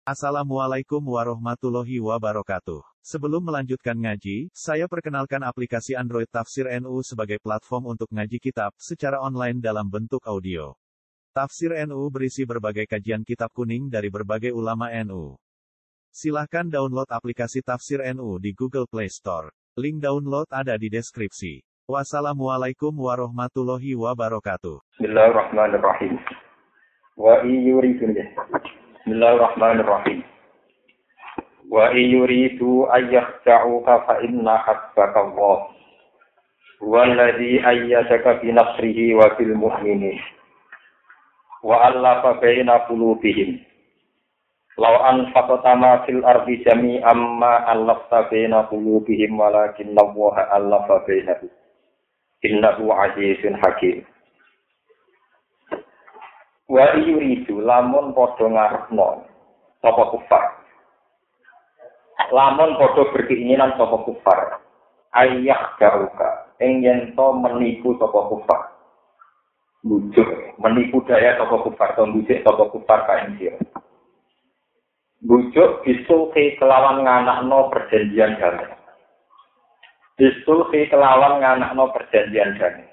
Assalamualaikum warahmatullahi wabarakatuh. Sebelum melanjutkan ngaji, saya perkenalkan aplikasi Android Tafsir NU sebagai platform untuk ngaji kitab secara online dalam bentuk audio. Tafsir NU berisi berbagai kajian kitab kuning dari berbagai ulama NU. Silahkan download aplikasi Tafsir NU di Google Play Store. Link download ada di deskripsi. Wassalamualaikum warahmatullahi wabarakatuh. Bismillahirrahmanirrahim. Bismillahirrahmanirrahim. Wa yuridu ayyakhta'uka fa inna hasbaka Allah. Walladzi ayyadaka bi nasrihi wa bil mu'minin. Wa allafa baina qulubihim. Law anfaqta ma fil ardi jami'an ma allafta baina qulubihim walakinna Allah allafa bainahum. Innahu 'azizun hakim. Wa yuridu lamun padha ngarepno sapa kufar. Lamun padha berkeinginan sapa kufar. Ayah garuka ing yen to menipu sapa kufar. Bujuk menipu daya sapa kufar to bujuk sapa kufar ka ing sira. Bujuk bisulhi kelawan nganakno perjanjian damai. Bisulhi kelawan nganakno perjanjian damai.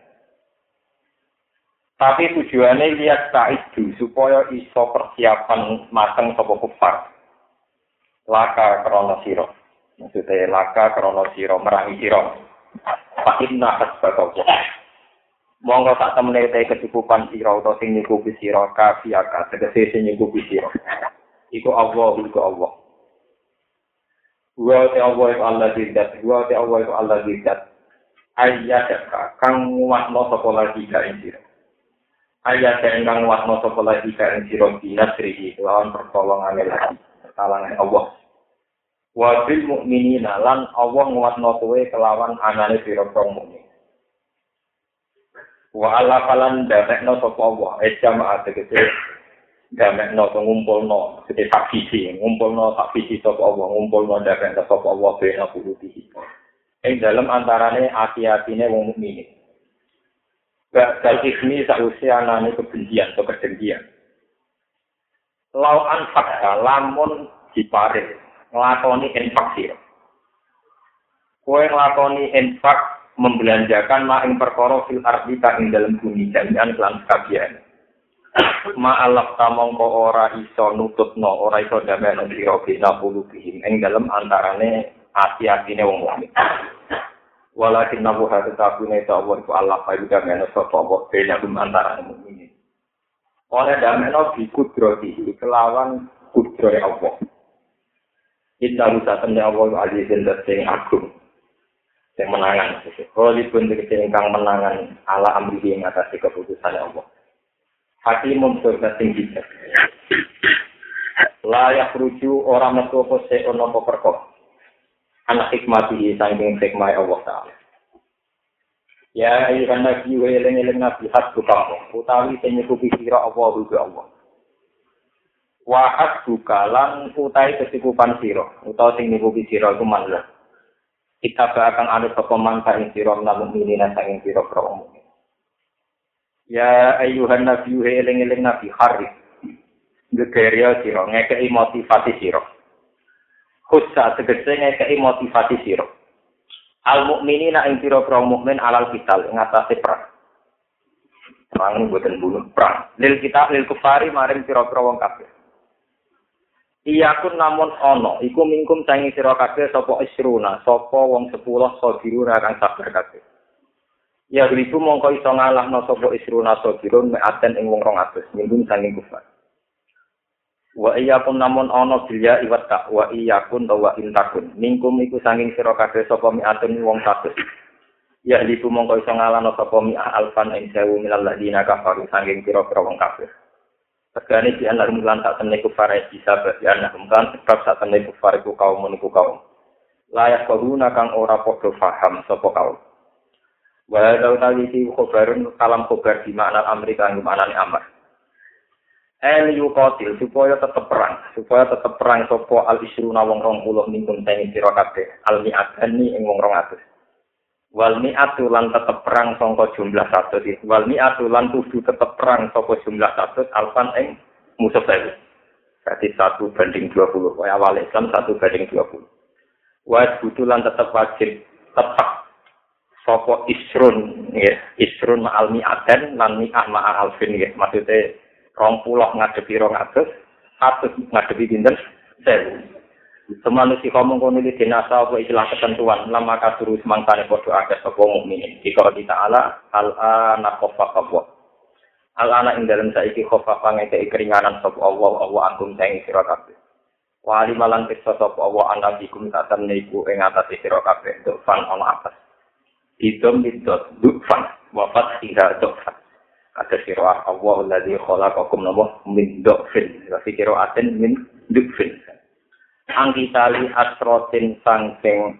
Tapi tujuannya lihat ta'idu supaya iso persiapan mateng sapa kufar. Laka krana sira. Maksudnya laka krana sira merangi sira. Fa inna hasbaka. Monggo sak temene te kecukupan sira utawa sing nyukupi sira kafiaka tegese sing nyukupi sira. Iku Allah. Wa ta'ala ziddat, wa ta'ala ziddat. Ayyadaka kang muatno sapa lagi ka sira. Ayat engkang wasno sapa lagi ka sira dinasrihi lawan pertolongane lagi talangan Allah. Wa bil mukminina lan Allah nguatno kowe kelawan anane pira-pira mukmin. Wa ala falan damekno sapa Allah jamaah tegese damekno ngumpulno tegese saksi ngumpulno saksi sapa Allah ngumpulno damekno sapa Allah bena puluhi. Ing dalem antarane ati-atine wong mukmin. Bakal ismi sausia nani kebencian atau kedengkian. Lau anfakta lamun diparing nglakoni infak sira. Kowe nglakoni infak membelanjakan mak ing perkara fil ardi ka ing dalem bumi jami'an lan kabiyan. Ma alaf tamangka ora iso nututno, ora iso damekno sira bina pulubihim ing dalem antarane ati-atine wong mukmin. Walakin nabu hati tabune ta'awar ku Allah fa yuda mena sapa wa bena antara mukminin. Oleh dameno bi kudrati kelawan kudrohe Allah. Inna rusatane Allah azizun sing agung. Sing menangan sesuk. Holipun tegese ingkang menangan ala amrihi ing atas keputusane Allah. Hakimun surga sing bijak. La yakhruju ora metu apa sik ana apa perkara. Anak hikmati saking hikmah Allah Ta'ala. Ya ayyuhan nabi wa eling-eling nabi hasbuka utawi sing nyukupi sira apa rujuk Allah. Wa hasbuka lan utawi kecukupan sira utawa sing nyukupi sira iku manlah. Kita akan ada sapa mangka ing sira lan mukminina saking sira pro. Ya ayyuhan nabi wa eling-eling nabi harif. Gegeria sira ngekeki motivasi sira. Khusus tegese ngekeki motivasi sira. Al mukminina ing pira-pira mukmin alal qital ing atase perang. Perang boten bunuh perang. Lil kufari maring pira-pira wong kafir. Iyakun namun ana iku mingkum sangi sira kabeh sapa isruna, sapa wong 10 sabiruna kang sabar kabeh. Ya ribu mongko iso ngalahno sapa isruna sabirun meaten ing wong 200 mingkum sangi kufar. Wa iyakun namun ana bilya iwat tak wa iyakun wa intakun mingkum iku sanging sira kabeh sapa mi'atun wong 100 ya liku mongko iso ngalano sapa mi'a alfan ing 1000 minal ladina kafaru sanging pira-pira wong kafir tegane di anar mulan tak temne kufar bisa berarti anak kan sebab sak temne kufar iku kaum layak koruna kang ora padha paham sapa kaum wa dautawi iki khabarun kalam khabar di makna Amerika ing maknane amar yuqatil supaya tetep perang sapa al-isruna wong 20 mingkun teng sira kabeh al-mi'atani ing wong 200 wal mi'atu lan tetep perang sangka jumlah 100 wal mi'atu lan kudu tetep perang saka jumlah 100 alfan ing musuh saya Berarti 1:20. Kaya awal Islam 1:20. Wa butulan tetap wajib tetap sapa isrun ya, isrun ma'al mi'aten lan mi'ah ma'al alfin ya. Maksudnya 20 ngadepi 200, 100 ngadepi pinten? 1000. Semanusia kamu kono iki dinasa apa istilah ketentuan lama kaduru semangkane padha akeh sapa mukminin. Jika kita ala al-ana khaffafa Allah. Al-ana ing dalem saiki khaffafa ngekeki keringanan sapa Allah antum sing sira kabeh. Wali malan pirsa sapa Allah anabikum taten niku ing atas sira kabeh dufan ana atas. Idom bidot dufan wafat tidak dufan. Kata sira Allah alladzi khalaqakum min dufin. Wa fi qira'atin min dufin. Angkitali asrotin sangking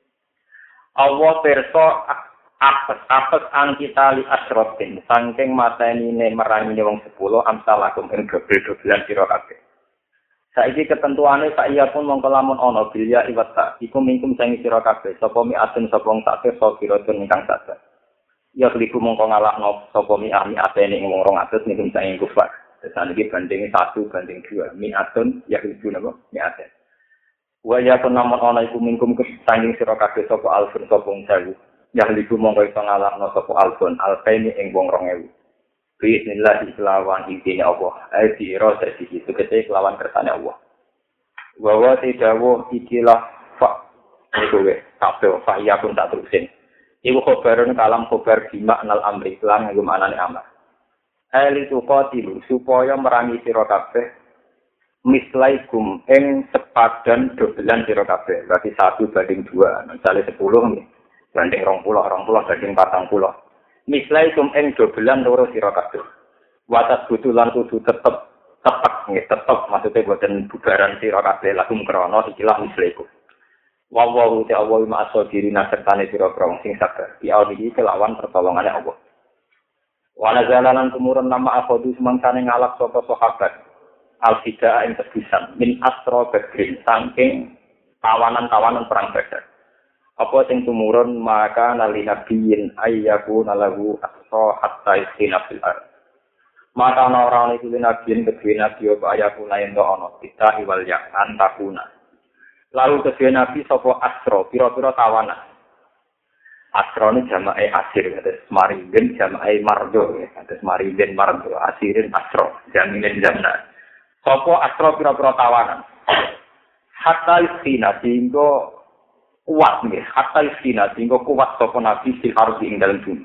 Allah pirsa apes angkitali asrotin sangking matenine merangine wong 10 amsalakum ing dobel-dobelan sira kabeh. Saiki ketentuane saya pun mongko lamun ana bilya iwata iku mingkum sing sira kabeh sapa mi'atun sapa wong sakir sapa kiratun ingkang sadar. Ya kliku mongko ngalahno sapa mi'atene ing wong 200 mingkum sing kufar. Sesan iki bandinge 1:2 mi'atun ya kliku napa mi'aten. Wa ya pun lamun ana iku mingkum sanging sira kabeh sapa alfun sapa wong 1000. Ya kliku mongko iso ngalahno sapa alfun alfaini ing wong 2000. Bismillah kelawan izin Allah. Aidi rosa iki tegese kelawan kersane Allah. Wa tidawu ikilah fa iku we kabeh fa ya pun tak terusin. Iku khobarun kalam khobar bima anal amri lan nggo manane amar. Ali tuqatilu supaya merangi sira kabeh mislaikum ing sepadan dobelan sira kabeh. Berarti 1:2. Misale 10 banding 20, 20 banding 40. Mislaikum ing dobelan loro sira kabeh. Watas butulan kudu tetep nggih tetep maksudnya boten bubaran sira kabeh lakum krana ikilah mislaikum. Wallahu ta'ala ma'asodirina sertane sira-sira sing sabar. Ya iki kelawan pertolongane Allah. Wa nazalanan tumurun nama akhodu semangkane ngalap sapa sahabat. Al-Fidaa ing tebusan min asra badrin saking tawanan-tawanan perang Badar. Apa sing tumurun maka nali nabiyin ayyaku nalahu asra hatta istina fil ard. Maka ana ora iki nabiyin kedue nabi apa ayaku lain to ana kita iwal ya antakuna. Lalu kedue nabi sapa asra pira-pira tawanan. Asra ni jamae asir kados marinden jamae mardo kados marinden mardo asirin asra jaminen jamna. Sapa asra pira-pira tawanan. Hatta istina singgo kuat nggih hatta istina sehingga kuat sapa nabi fil ardi ing dalem bumi.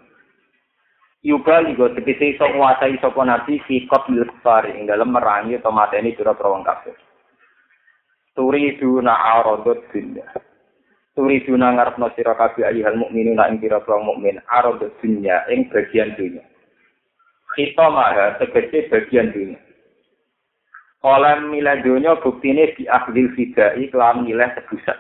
Yuga ligo tegese iso nguasai sapa nabi fi qatlil kufar ing dalem merangi atau mateni pira-pira wong kafir. Turiduna aradud dunya. Turiduna ngarepno sira kabeh ayyuhal mukminuna ing pira-pira mukmin aradud dunya ing bagian dunya. Kita maha tegese bagian dunya. Kalau milih dunya buktine di akhdil fidai kelam milih tebusan.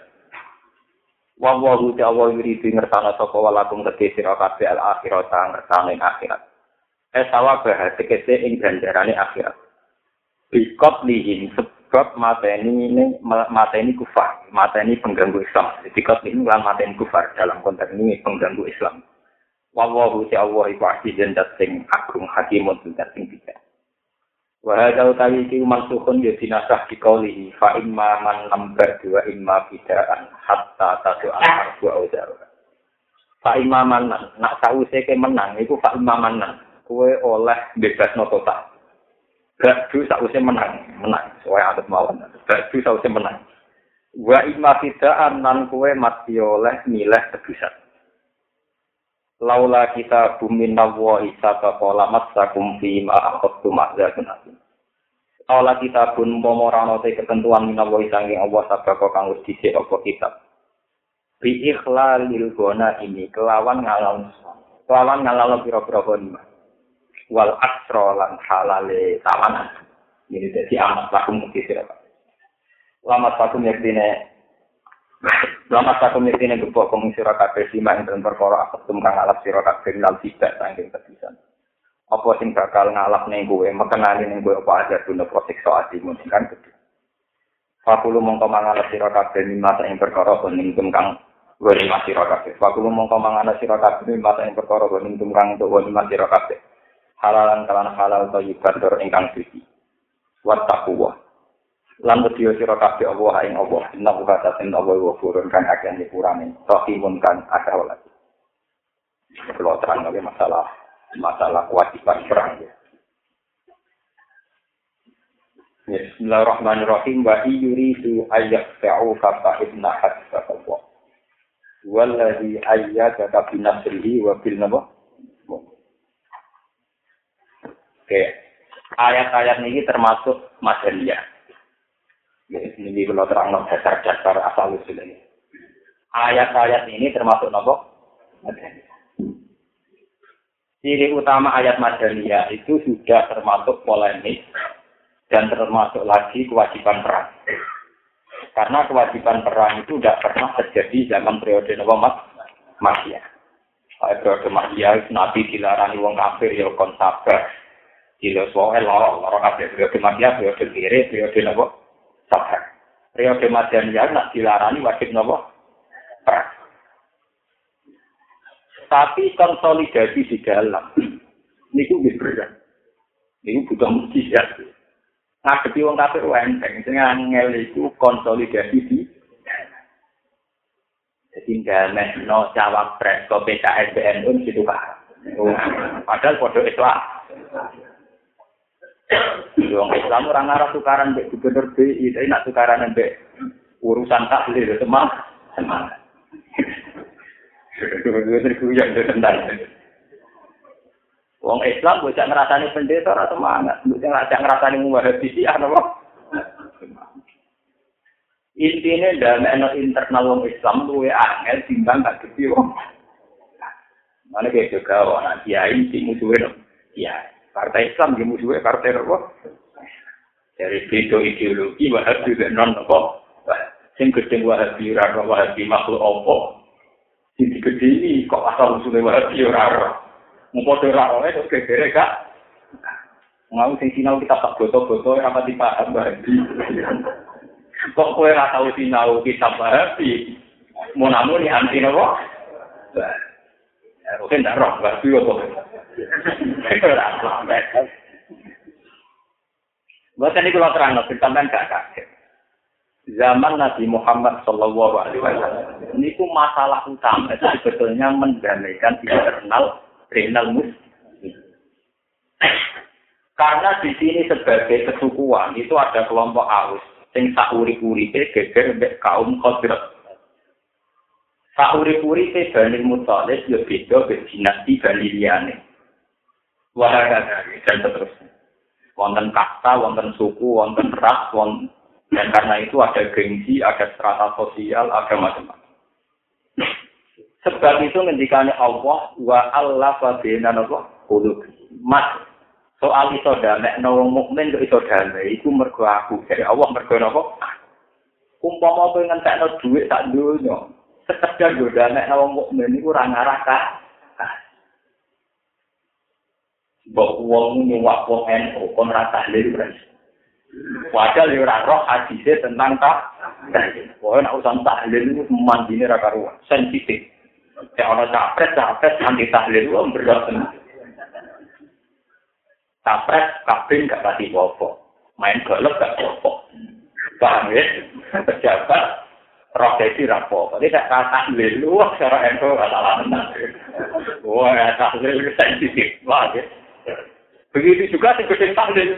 Wallahu ta'ala yuridu ngersana sapa walakum tegese sira kabeh al-akhirat ngersane akhirat. Sawabah tegese ing ganjarane akhirat. Bikot lihim sebab mateni kufar, mateni pengganggu Islam. Bikot lihim lan mateni kufar dalam konteks ini pengganggu Islam. Wallahu ta'ala iku azizun sing agung hakimun sing bijak. Wa hadza utawi iki mansukhun ya dinasah dikaulihi fa imma man lambar wa imma bidaan hatta tadu al-harbu audar. Fa imma man nak sause ke menang iku fa imma man kowe oleh bebasno total. Gadu sause menang soalnya adat mawon. Gadu sause menang. Wa imma bidaan nan kowe mati oleh milih tebusan. Laula kita bumin nawahi sata pola masakum fi ma akhadtum azabun asim. Laula kita pun momorano te ketentuan minawahi sanging Allah sabako kang wis dhisik apa kitab. Bi ikhlalil gona ini kelawan ngalal pira-pira gona. Wal asra lan halale tawanan. Ini dadi amat lakum kisira. Lama satu yektine Lama satu mitine gebok kong sira kabeh simak ing perkara aketum kang alap sira kabeh lan tidak saking kebisan. Apa sing bakal ngalap ning kowe, mekenani ning kowe apa aja guna prosiksa atimu kan gedhe. Fakulu mongko mangalap sira kabeh mimasa ing perkara ning kang wani sira kabeh. Fakulu mongko mangalap sira kabeh mimasa ing perkara ning kang wani sira kabeh. Halalan kalan halal thayyibah dur ingkang suci. Wattaqwa. Lan wedi sira kabeh Allah ing Allah. Inna kata sen Allah wa furun kan akeh nyepurane. Rahimun kan akeh welas. Kalau terang lagi masalah kewajiban perang. Bismillahirrahmanirrahim. Wa yuridu ayyaqta'u fa inna hasbaka. Wallazi ayyadaka bi nasrihi wa bil nabah. Oke. Ayat-ayat ini termasuk Madaniyah. Ini kalau terang dasar-dasar asal usul ini. Ayat-ayat ini termasuk nabah Madaniyah. Ciri utama ayat Madaniyah itu sudah termasuk polemik dan termasuk lagi kewajiban perang. Karena kewajiban perang itu tidak pernah terjadi zaman periode Makkiyah. Periode Makkiyah Nabi dilarani wong kafir ya kon sabar. Dilo soal loro kabeh periode Makkiyah periode kiri periode napa sabar. Periode Madaniyah nak dilarani wajib napa perang. Tapi konsolidasi di dalam niku nggih berat. Niku butuh mujizat. Ngadepi wong kafir enteng, sing angel iku konsolidasi di jadi nggak no cawapres ke PKS BNU gitu kan. Padahal podo Islam. Wong Islam orang arah tukaran mbek gubernur BI, tapi nak tukaran mbek urusan tahlil semangat. Wong Islam bocah ngrasani pendeta ora semangat, bocah ngrasani muwahabi ana apa? Intine damekno internal wong Islam luwe angel timbang gak gede wong. Mane ge juga ana kiai sing musuhe no. Iya, partai Islam ge musuhe partai apa? Dari beda ideologi Wahabi dan non apa? Sing gedeng Wahabi ora Wahabi makhluk apa? Sing digedeni kok asal usule Wahabi ora ora. Ngopo ora ora kok gegere gak? Mau sing sinau kita tak foto-foto ora pati paham Wahabi. Kok kowe ora tau sinau kitab Wahabi? Monamuni anti napa? Oke ndak roh Wahabi kok. Ora sampai. Bahkan ini kalau terang, sampean gak kaget. Zaman Nabi Muhammad Sallallahu Alaihi Wasallam, ini ku masalah utama itu sebetulnya mendamaikan regional muslim. Karena di sini sebagai kesukuan itu ada kelompok Aus, sing sauri-uripe geger mbek kaum Khazraj. Sauri-uripe Bani Muthalib yo beda mbek dinasti Bani liyane. Wahakata dan seterusnya. Wonten kasta, wonten suku, wonten ras, dan karena itu ada gengsi, ada strata sosial, ada macam-macam. Sebab itu ngendikane Allah wa allafa baina qulub. Mas soal iso damekno wong mukmin kok iso damai iku mergo aku. Jadi Allah mergo napa? Umpama kowe ngentekno dhuwit sak donya, sekedar yo damekno wong mukmin iku ora ngarah ka mbok wong nyuwak wong NU kon ra tahlil beres. Padahal yo ora roh hadise tentang Pokoke nek urusan tahlil itu mandine ra karuan, sensitif. Nek ana capres anti tahlil ku berat. Capres kabin gak pati apa. Main golf gak apa. Paham ya? Pejabat roh dadi ra apa. Nek gak tahlil lu cara NU ora salah tenan. Wah, tahlil sensitif. Wah, ya. Begitu juga sing gedeng tahlil.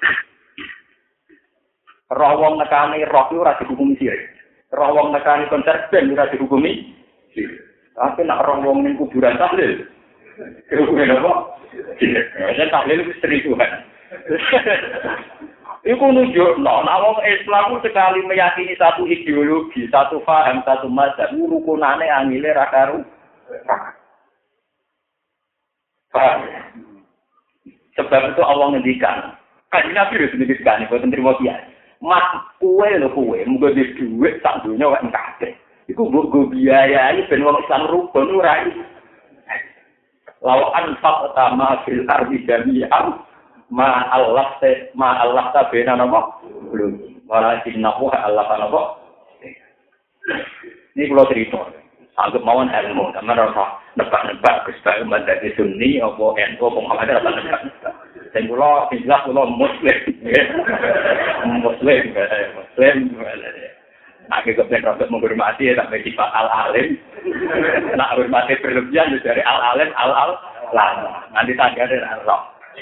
Roh wong nekani roh itu ora dihukumi sirik. Roh wong nekani konser band ora dihukumi sirik. Tapi nak roh wong ning kuburan tahlil. Dihukumi apa? Sirik. Ya tahlil itu seribuan. Iku nunjukno nek wong Islam sekali meyakini satu ideologi, satu paham, satu mazhab, rukunane angile ra karu. Paham? Sebab itu Allah ngendikan, kan Nabi wis ngendikan boten trimo kiai. Mas kowe lho kowe, muga di dhuwit sak donya wae kabeh. Iku mbok go biayai ben wong Islam rukun ora iki. Law anfaq tama fil ardi jami'an ma Allah ta bena napa? Belum. Walakinnahu Allah napa? Ini kula cerita. Anggap mawon ilmu, teman ora nebak-nebak Gus Bae menjadi Sunni apa NU apa Muhammadiyah apa nebak. Sing kula jelas kula muslim. Muslim. Aku kepen rasa menghormati ya sampai sifat al-alim. Nak hormati berlebihan dari al-alim al-alam. Nanti tanggane roh.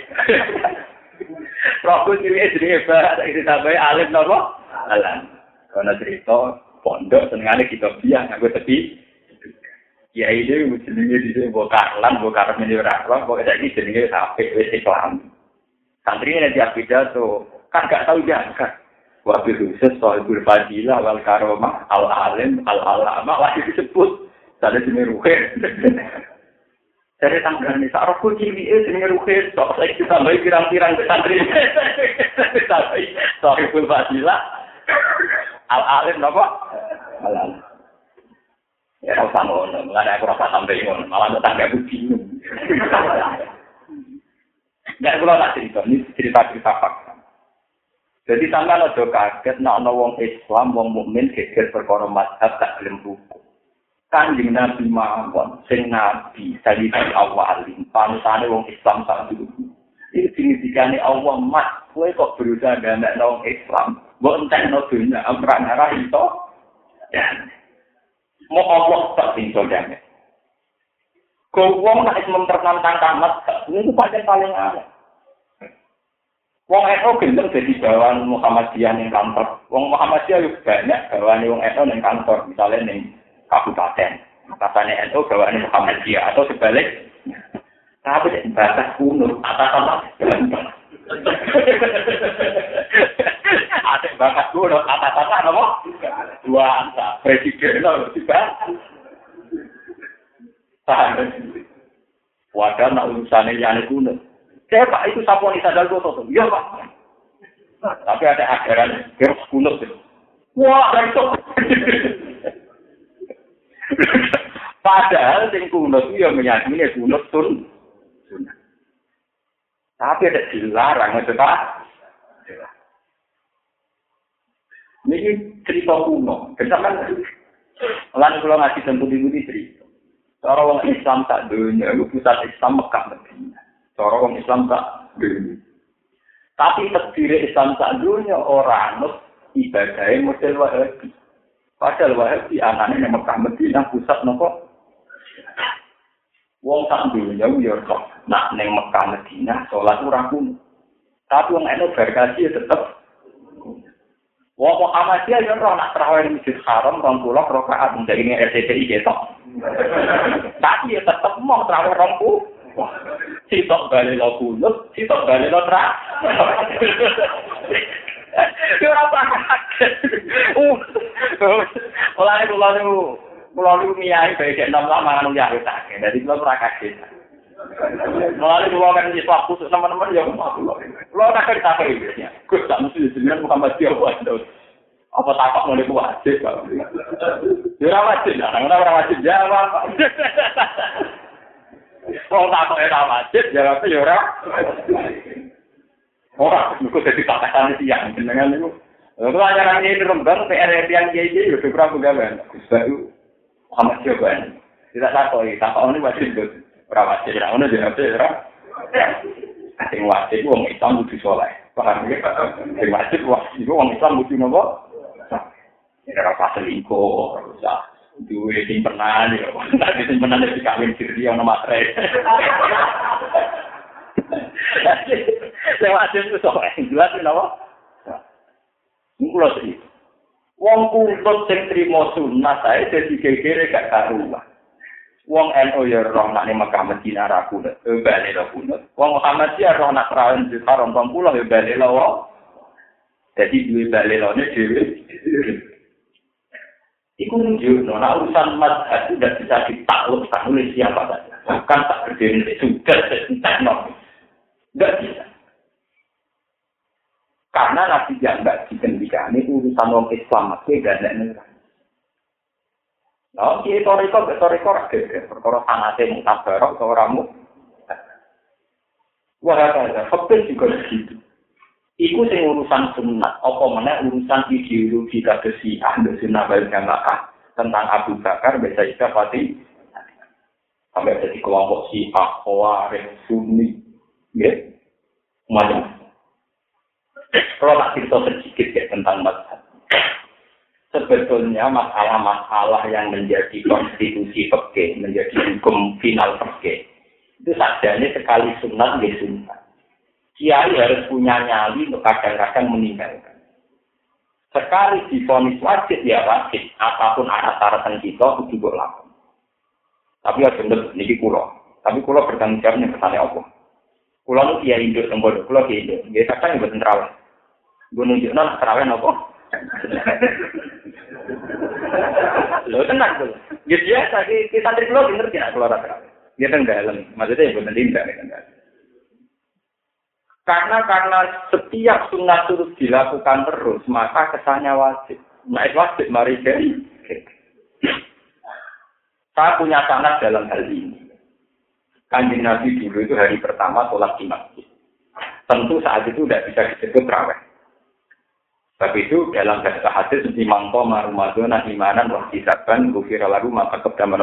Rohku cilik jenenge ba, tak ditambahi alim napa? Alam. Karena cerita pondok senengane kita biang aku tepi. Ya ini jenenge dise mbok karlan, mbok karep ora roh, kok saiki jenenge apik wis Islam. Santri ini dia pidato, kan gak tahu jangka. Wabil khusus sohibul fadilah wal karomah al-alim al-alama lagi disebut. Ada jenis ruhir. Dari tanggal ini, sarap kucing ini jenis ruhir. Sok saya ditambahi pirang-pirang ke santri. Ditambahi sohibul fadilah al-alim apa? Al-alim. Ya, rasa ngono, nggak ada aku rasa sampai ngono, malah tetangga aku bingung. Nggak perlu tak cerita, ini cerita fakta. Jadi sampai ada kaget, nak wong Islam, wong mukmin geger perkara mazhab tak gelem ruku. Kanjeng Nabi mawon, sing Nabi dari awalin, panutane wong Islam sak dulu. Ini signifikannya Allah mat, kowe kok berusaha gamek wong Islam, mbok entekno dunya, amrang arah itu. Ya. Mau Allah tak pintu jamin. Kau wong nak mempertentangkan tamat, ini paling aneh. Wong NU gendeng jadi bawahan Muhammadiyah yang kantor. Wong Muhammadiyah juga banyak bawahan wong NU yang kantor, misalnya yang kabupaten. Katanya NU bawahan Muhammadiyah atau sebalik. Tapi batas kuno atas gampang. Ada bakat kuno atas apa? Dua angka presiden loh tiba. Wadah nak urusannya yang kuno. Saya Pak itu saponi sadar goto. Iya Pak. Tapi ada ajaran kira kuno. Wah itu. Padahal yang kuno itu yang meyakini kuno tun. Tapi ada dilarang itu tak. Ini cerita kuno. Kesamaan lan kula ngaji tentu di cerita. Cara wong Islam tak dunia, itu pusat Islam Mekah Madinah. Cara wong Islam tak dunia. Tapi terdiri Islam tak dunia orang ibadahnya model Wahabi. Padahal Wahabi anaknya Mekah Madinah pusat nopo. Wong tak dunia yo kok nak neng Mekah Madinah salat ora kuno. Tapi wong eno berkasi tetep wong Muhammadiyah yo ora nak tarawih di Masjid Haram 20 rakaat ndek ini RCTI ketok. Tapi ya tetep mau tarawih 20. Sitok bali lo kunut, sitok bali lo tra. Yo ora pakai. Kula niku miyai bae nek nom lama anu ya tak. Dadi kula ora kaget. Mulane kula kan wis waktu teman-teman ya kula tak kerja iki. Gus tak mesti jenengan Muhammadiyah wae. Apa takok ngene ku wajib kok. Ya ora wajib, ora wajib jawab. Wong takok ora wajib jawab ya ora. Ora, niku dadi takasan siang jenengan niku. Kula nyaran iki rembang PR yang iki yo ora pegawean. Gus Bayu Muhammadiyah kan. Tidak takok ini wajib Gus. Ora wajib ora ono jawab ora. Sing wajib wong Islam kudu saleh. Paham ya? Sing wajib wong Islam kudu nopo? Ora paselingko, ora duwe simpenan yo. Nek simpenan iki kawin diri ono matre. Sing wajib itu saleh. Jelas napa? Kulo sih. Wong kumpul sing trimo sunah sae dadi gegere gak karuan. Wong NU ya roh nak ning Mekah Madinah ra kunut, bali ra kunut. Wong Muhammadiyah roh nak rawon di Haram 20 ya bali ra. Dadi duwe bali lone dhewe. Iku nunjukno nek urusan mazhab itu tidak bisa ditaklukkan oleh siapa saja. Bukan tak berdiri sudah teknologi. Enggak bisa. Karena Nabi yang enggak dikendikani urusan orang Islam masih gak ada neraka. Nah, retorika rakyat, perkara sanate mutabarok ke orangmu. Wah, ada, fakir juga begitu. Iku sing urusan sunnah, apa meneh urusan ideologi kados Syiah, Sunnah wal Jamaah tentang Abu Bakar, Sayyidah Fatimah. Sampai jadi kelompok Syiah, Khawarij, Sunni, nggih. Macam. Kalau tak cerita sedikit ya tentang mazhab. Sebetulnya masalah-masalah yang menjadi konstitusi fikih, menjadi hukum final fikih, itu sajanya sekali sunat nggih sunat. Kiai harus punya nyali untuk kadang-kadang meninggalkan. Sekali divonis wajib ya wajib, apapun syarat kita kudu mbok lakoni. Tapi aja ndek niki kula. Tapi kula bertanggung jawabnya kesane apa? Kula nu kiai induk teng bodo, kula kiai induk. Nggih kadang mboten traweh. Gue nunjukno nak traweh napa? Lho tenang tuh. Ya biasa ki santri kula ngerti nek kula ora traweh. Dia kan dalam, maksudnya mboten tindak kan. Karena setiap sunat terus dilakukan terus, maka kesannya wajib. Nah, wajib mari jadi. Saya punya sanad dalam hal ini. Kanjeng Nabi dulu itu hari pertama sholat di masjid. Tentu saat itu tidak bisa disebut raweh. Tapi itu dalam bahasa hadis di mangko Ramadan imanan wa hisaban ghufira lahu ma taqaddama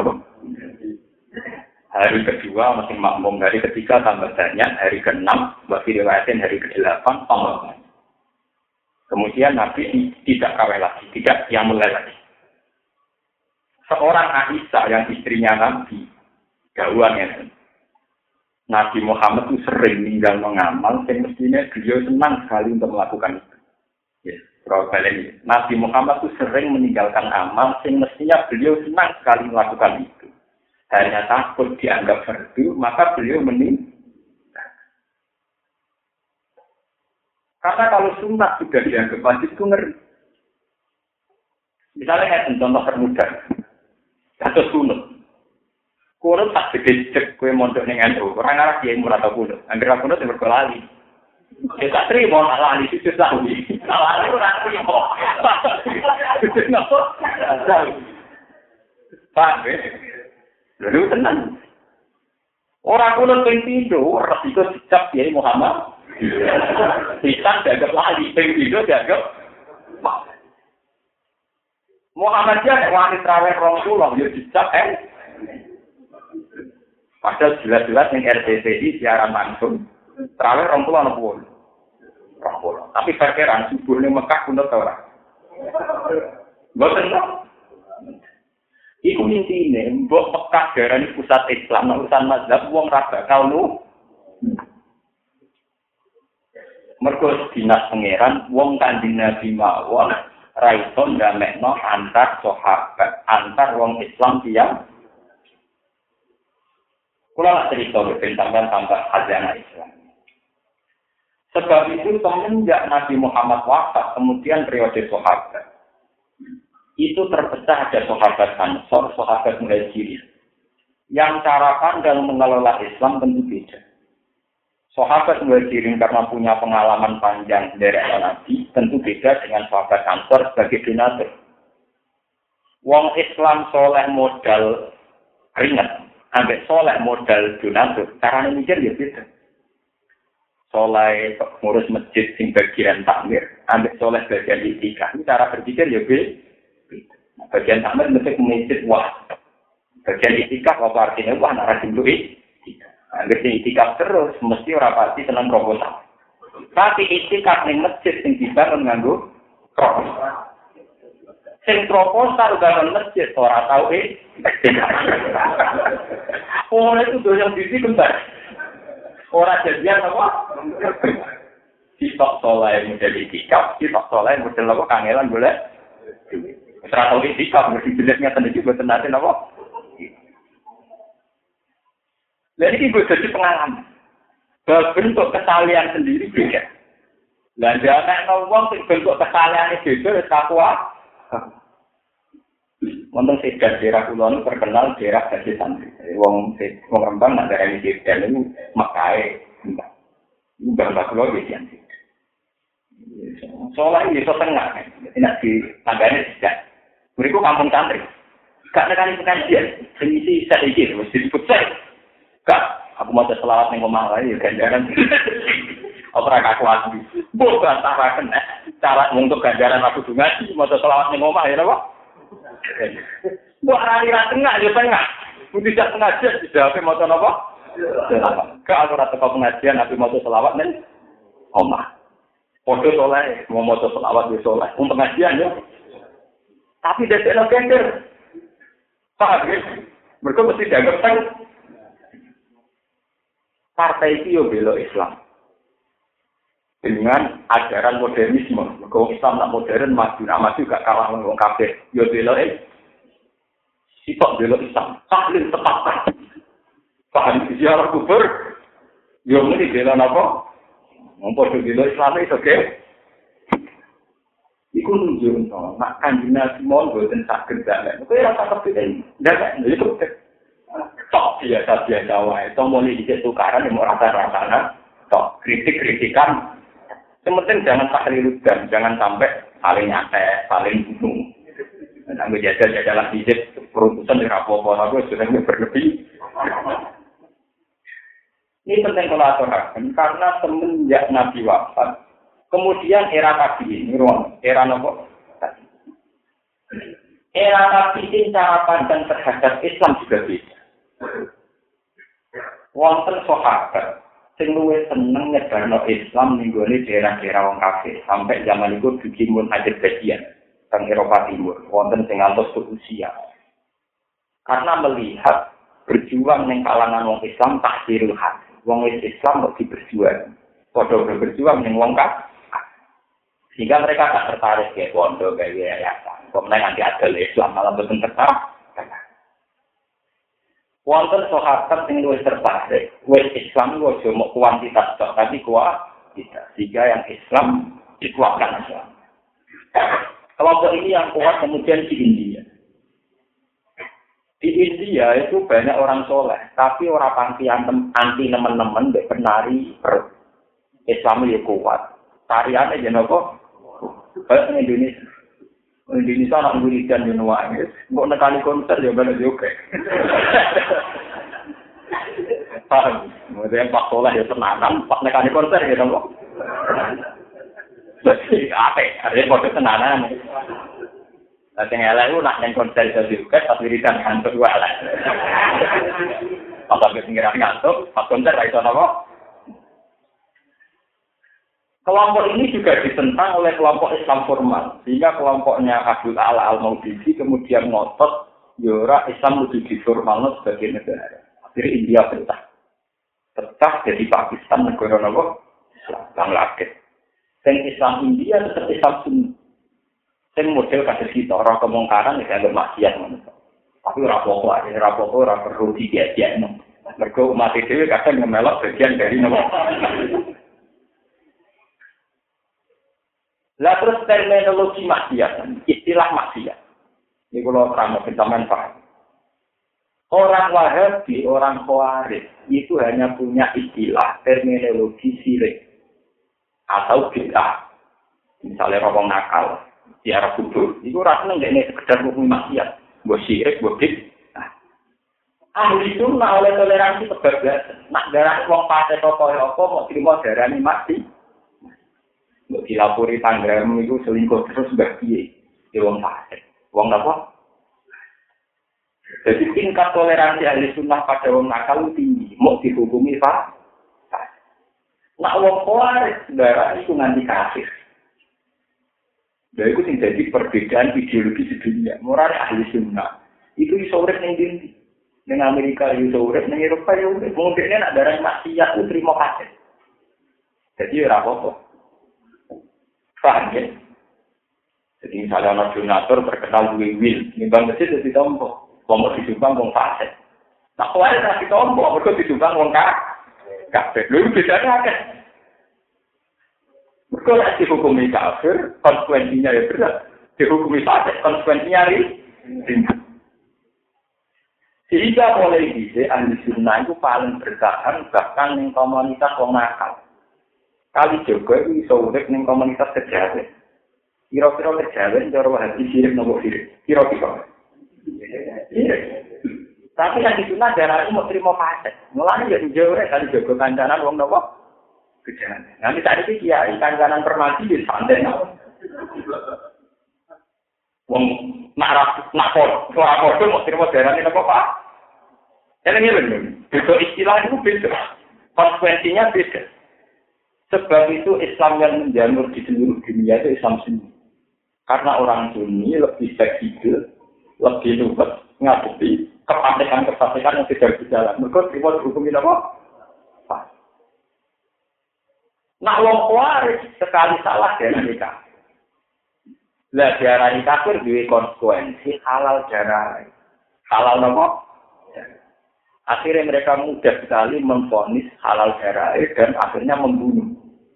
hari kedua masih makmum, hari ketiga tambah banyak, hari ke-6 bagi riwayatin hari ke-8 tambah banyak. Kemudian Nabi tidak kawin lagi, tidak yang mulai lagi. Seorang Aisyah yang istrinya Nabi, gawannya Nabi Muhammad itu sering meninggal mengamal, yang mestinya beliau senang sekali untuk melakukan itu. Ya, Nabi Muhammad itu sering meninggalkan amal, yang mestinya beliau senang sekali melakukan itu. Hanya takut dianggap fardu, maka beliau meninggal. Karena kalau sunat sudah dianggap wajib itu ngeri. Misalnya contoh termudah, kasus kunut. Kunut tak gede cek kue mondok dengan itu. Orang arah dia murah atau kunut. Angger kunut yang berkelali. Kita tak terima nak lali itu lagi. Lali orang terima. Kenapa? Pak, lalu tenang. Orang kunut yang tidur, resiko dicap Kiai Muhammad. Dicap dianggap lali, yang tidur dianggap Muhammadiyah wanita raweh 20, ya dicap padahal jelas-jelas yang RCTI siaran langsung raweh 20. Tapi perkiraan subuh ini Mekah kunut ora. Mboten kok. Iku intine mbok Mekah darani pusat Islam, urusan mazhab wong ra bakal nu. Mergo dinas pangeran wong Kanjeng Nabi mawon ra iso ndamekno antar sahabat, antar wong Islam tiyang. Kula cerita tentang tambah khazanah Islam. Sebab itu semenjak Nabi Muhammad wafat, kemudian periode sahabat itu terpecah ada sahabat Ansor, sahabat Muhajirin. Yang cara pandang mengelola Islam tentu beda. Sahabat Muhajirin karena punya pengalaman panjang dari Nabi, tentu beda dengan sahabat Ansor sebagai donatur. Wong Islam soleh modal ringan, ambek soleh modal donatur, caranya mikir ya beda. Soleh ngurus masjid sing bagian takmir, ambek soleh bagian itikaf, ini cara berpikir ya beda. Bagian takmir mesti masjid wah. Bagian itikaf apa artinya wah nak rajin duit. Ambek itikaf terus mesti ora pasti seneng proposal. Tapi itikaf ning masjid sing dibangun nganggo proposal. Sing proposal bangun masjid ora tau Oh, itu doyan bisnis kembar. Orang jadian apa? Sitok soleh model itikaf, sitok soleh model apa? Kangelan boleh? Serata itikaf, mesti jelasnya tadi juga tenatin apa? Jadi ini gue jadi pengalaman. Bentuk kesalahan sendiri beda. Dan jangan ngomong bentuk kesalahan itu beda, takwa. Wonten sedan daerah kulon terkenal daerah Gajah Santri. Wong Rembang nak daerah ini sedan itu Mekae. Mbah kula wis jan. Soalnya ini so tengah, nak di tanggane sedan. Mereka kampung santri. Gak nekani pengajian, sengisi saiki mesti disebut saya. Gak, aku mau selawat ning omah wae ganjaran. Ora kaku aku. Mbok bantaraken cara untuk ganjaran aku ngaji mau selawat ning omah ya napa? Buat rari-rari tengah, ya tengah. Tidak pengajian, tidak apa mau apa? Ke aku rata pengajian, aku mau selawat nih. omah. Podo soleh, mau maca selawat wis soleh. Pengajian yo. Tapi dadekno gender. Paham ya? Mereka mesti dianggap kan partai itu yo bela Islam. Dengan ajaran modernisme. Mereka Islam nak modern maju gak kalah wong kafir. Yo bela sitok bela Islam. Tahlil tepat. Paham ziarah kubur. Yo muni bela napa? Wong padha bela Islam itu oke. Iku nunjuk nak kanjeng Nabi mon boten saged dalek. Kowe ora tak kepikir. Dalek itu tok biasa wae. Tomone dicek tukaran yang ora rasa-rasana. Tok kritik-kritikan. Yang penting jangan tahliluddan, jangan sampai saling nyatek, saling bunuh. Nang jajal-jajalan hijab perutusan di rapopo aku sudah berlebih. Ini penting kalau aturakan karena semenjak Nabi wafat, kemudian era tabi'in, era nopo? Era tabi'in cara pandang terhadap Islam juga beda. Wonten sahabat sing luwih seneng nyebarno Islam ning gone daerah-daerah wong kafir sampai zaman iku dikimun Azerbaijan teng Eropa Timur, wonten sing ngantos usia. Karena melihat berjuang ning kalangan wong Islam tak dirulhat. Wong Islam kok diberjuang. Padha berjuang ning wong kafir. Sehingga mereka tak tertarik kayak pondok kayak yayasan. Kok menang anti adil Islam malah boten tertarik. Wonten sahabat sing luwih tertarik, wis Islam kok cuma kuantitas tok, tapi kualitas. Sehingga yang Islam dikuatkan Islam. Kelompok ini yang kuat kemudian di India. Di India itu banyak orang soleh, tapi orang anti teman-teman dek penari Islam itu kuat. Tariannya jangan kok. Banyak Indonesia. Indonesia anak wiridan yang nuangis. Kok nekani konser ya banyak juga. Paham? Kemudian Pak Soleh ya tenanan, Pak nekani konser ya kok. Jadi apa? Ada kode tenanan. Nah, sing elek ku nak nang konser iso diuket pas wiridan ngantuk wae elek. Apa wis ngira ngantuk, pas konser ra iso napa? Kelompok ini juga ditentang oleh kelompok Islam formal, sehingga kelompoknya Abdul Ala Al-Maududi kemudian ngotot yora Islam lebih diformalno sebagai negara. Akhirnya India pecah jadi Pakistan negara napa? Islam Bangladesh. Sing Islam India tetap Islam Sunni. Sing model kados kita ora kemungkaran nek anggap maksiat ngono. Tapi ora apa-apa, ora perlu diajak-ajak. Mergo umat dhewe kadang ngemelok bagian dari napa. Lah terus terminologi maksiat, istilah maksiat. Ini kalau terang sampean paham. Orang Wahabi, orang Khawarij itu hanya punya istilah terminologi syirik atau bid'ah. Misalnya rokok nakal. Di arah kubur, itu rasanya nggak ini sekedar hukum maksiat, buat syirik, buat bid'ah. Ahli sunnah oleh toleransi kebablasan, nak darah uang pasir toko mau terima darah ini mati, mau dilapori tanggamu itu selingkuh terus bahagia di uang pasir, uang apa? Jadi tingkat toleransi ahli sunnah pada uang nakal tinggi, mau dihukumi pak. Nak uang Khawarij darah itu nanti kafir. Jadi itu jadi perbedaan ideologi di dunia. Moral ahli sunnah itu iso urip ning ndi? Ning Amerika iso urip, ning Eropa yo urip. Mungkin nek darah maksiat ku trimo kasih. Jadi ora apa-apa. Paham ya? Jadi misalnya ada donatur terkenal duwe wil, nimbang masjid dadi tompo. Wong disumbang wong fasik. Nah, kuwi ora ditompo, mergo disumbang wong kabeh. Lha bedane akeh. Kalau dihukumi kafir, konsekuensinya ya berat. Dihukumi fasik, konsekuensinya ringan. Sehingga mulai bisa ahli sunnah itu paling bertahan bahkan di komunitas wong nakal. Kali juga itu bisa urip di komunitas kejawen. Kira-kira kejawen, cara Wahabi sirik nopo sirik. Kira-kira. Tapi yang di sunnah darah itu mau terima fasik. Mulanya jadi jauh kali jago kancanan wong nopo. Kejangan. Nanti tadi sih kiai kancanan permati di santai. Wong nak foto mau terima darah ini apa pak? Jadi ini benar. Beda istilah itu beda. Konsekuensinya beda. Sebab itu Islam yang menjamur di seluruh dunia itu Islam Sunni. Karena orang Sunni lebih fleksibel, lebih luwes ngadepi kefasikan yang tidak berjalan. Mereka terima dihukumin apa? Nah, wong Khawarij sekali salah dari kafir. Lah diarani kafir duwe konsekuensi halal darah. Halal apa? Akhirnya mereka mudah sekali memvonis halal darah dan akhirnya membunuh.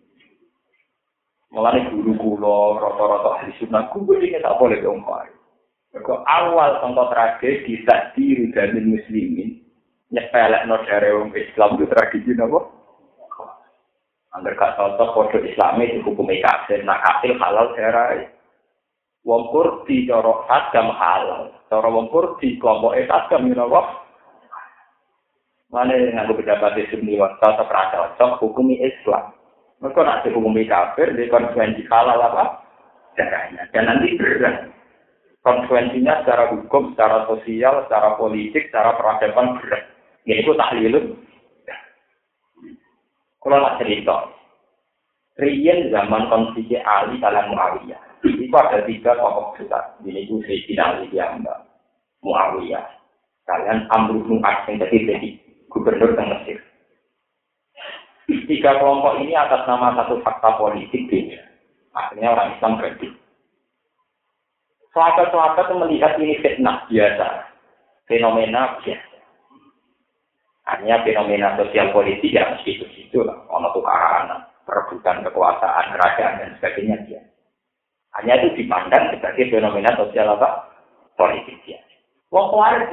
Mulai guru kula rata-rata ahli sunnah kuwi iki tak boleh wong Khawarij. Mergo awal contoh tragedi takdir dari muslimin nyepelekno darah wong Islam itu tragedi napa? Angger gak cocok kode Islami dihukum kafir, nak kafir halal darah. Wong Kurdi cara agam halal, cara wong Kurdi kelompok agam napa? Mane nganggo pejabat Sunni wae cocok ra cocok hukumi Islam. Mereka nak dihukumi kafir, di konsekuensi halal apa? Darahnya. Dan nanti berat. Konsekuensinya secara hukum, secara sosial, secara politik, secara peradaban berat. Yaitu tahlilun. Kalau nak cerita, Rian zaman konflik Ali kalian Muawiyah. Itu ada 3 tokoh besar. Ini itu Sayyidina Ali yang Muawiyah. Kalian Amr bin As yang jadi gubernur di Mesir. 3 kelompok ini atas nama satu fakta politik beda. Akhirnya orang Islam berhenti. Sahabat-sahabat melihat ini fitnah biasa, fenomena biasa. Hanya fenomena sosial politik ya mesti itu lah, ono tukaran, perebutan kekuasaan, kerajaan dan sebagainya dia. Hanya itu dipandang sebagai fenomena sosial apa? Politik dia. Wong Khawarij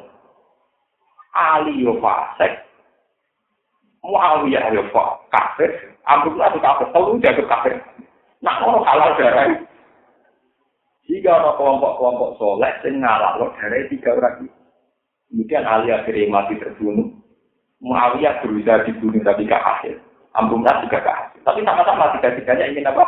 Ali yo fasik, Muawiyah yo kafir, Abdullah itu kafir, tahu dia kafir. Nah orang halal darah. Jika ada kelompok-kelompok soleh yang ngalalo darah 3 orang itu. Kemudian Ali akhirnya mati terbunuh. Muawiyah berusaha dibunuh tapi gak hasil. Abdullah juga gak hasil. Tapi sama-sama 3-3-nya ingin apa?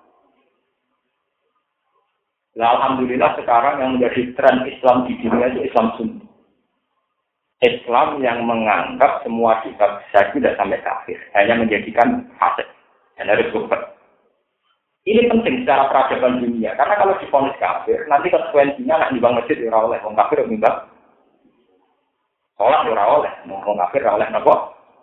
Nah, alhamdulillah sekarang yang menjadi tren Islam di dunia itu Islam Sunni. Islam yang menganggap semua kitab besar tidak sampai kafir, hanya menjadikan fasik dan harus kufur. Ini penting secara peradaban dunia, karena kalau divonis kafir, nanti konsekuensinya nak nimbang masjid ora oleh, wong kafir nimbang. Sholat ora oleh, wong kafir ora oleh napa?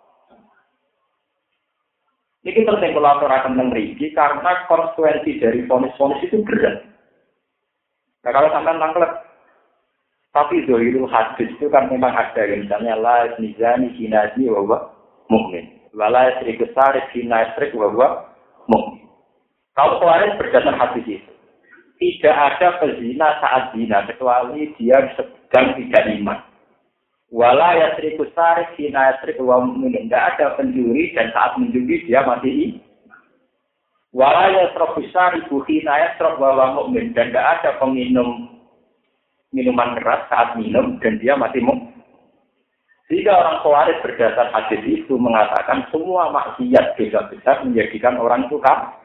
Ini penting kalau aturaken teng mriki karena konsekuensi dari vonis-vonis itu berat. Nah, kalau sampai tangklet, tapi zohirul hadis itu kan memang ada, misalnya la nizani sinadi wa mukmin, wala syriku sarif sinastrik wa mukmin. Kalau Khawarij berdasar hadis itu, tidak ada pezina saat zina kecuali dia sedang tidak iman. Wala syriku sarif sinastrik wa mukmin, tidak ada pencuri dan saat mencuri dia masih wala yasrabu syaribu hina yasrab wa mu'min, dan tidak ada peminum minuman keras saat minum dan dia masih mu'min. Jika orang Khawarij berdasar hadis itu mengatakan semua maksiat dosa besar menjadikan orang itu kafir.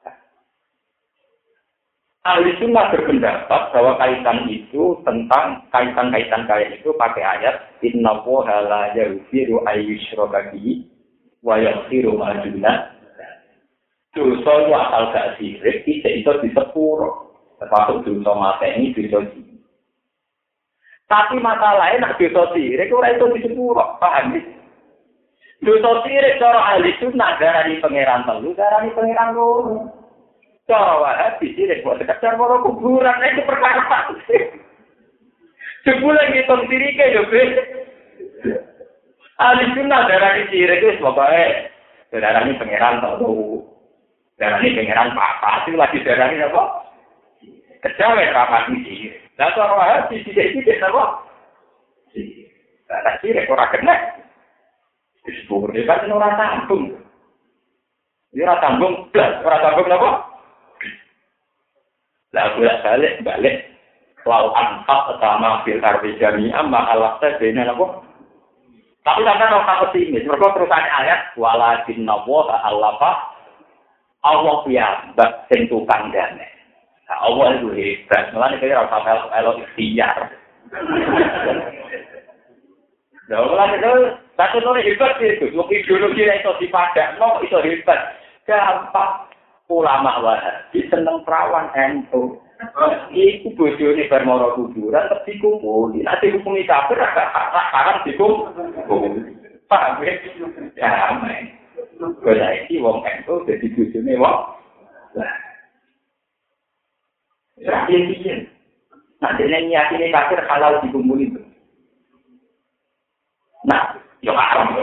Ahli Sunnah berpendapat bahwa kaitan itu tentang kaitan-kaitan kayak itu pakai ayat innallaha la yaghfiru ayyushraka bihi wa yaghfiru ma duna. Dosa itu asal gak sirik, itu disepuro. Termasuk dosa mateni, dosa sirik. Tapi masalahnya nak dosa sirik, orang itu disepuro. Paham ya? Dosa sirik, cara ahli sunnah, darani pangeran telu, darani pangeran loro. Cara Wahabi sirik, buat sekedar moro kuburan, itu perkara. Sebulan ngitung siriknya, ya, Be. Ahli sunnah, darani sirik, itu pokoknya darani pangeran telu. Darani pangeran papa itu lagi darani apa? Kejawen rapat iki. Lah cara Wahabi sithik-sithik apa? Lah sithik ora kena. Disebut kan ora tanggung. Ya ora tanggung blas, ora tanggung apa? Lah balik. Lau anfaq sama fil ardi jami'an ma alaqta baina apa? Tapi sampeyan ora pesimis, mergo terusane ayat walakin nawa alafa Allah piyambak sing tukang damai. Nah, Allah itu hebat. Mulane kaya ora sampe elo ikhtiar. Lah mulane itu satu hebat itu. Wong ideologi iso dipadakno iso hebat. gampang. Ulama Wahabi seneng perawan NU. Iku bojone bar mara kuburan terus dikumpuli. Nek dihukumi kafir haram dikumpuli. Paham ya? Ya, men. Kaya iki wong NU dadi bojone wong. Ya, piye? Nah, dene nyatine kafir halal dikumpuli. Nah, yo haram.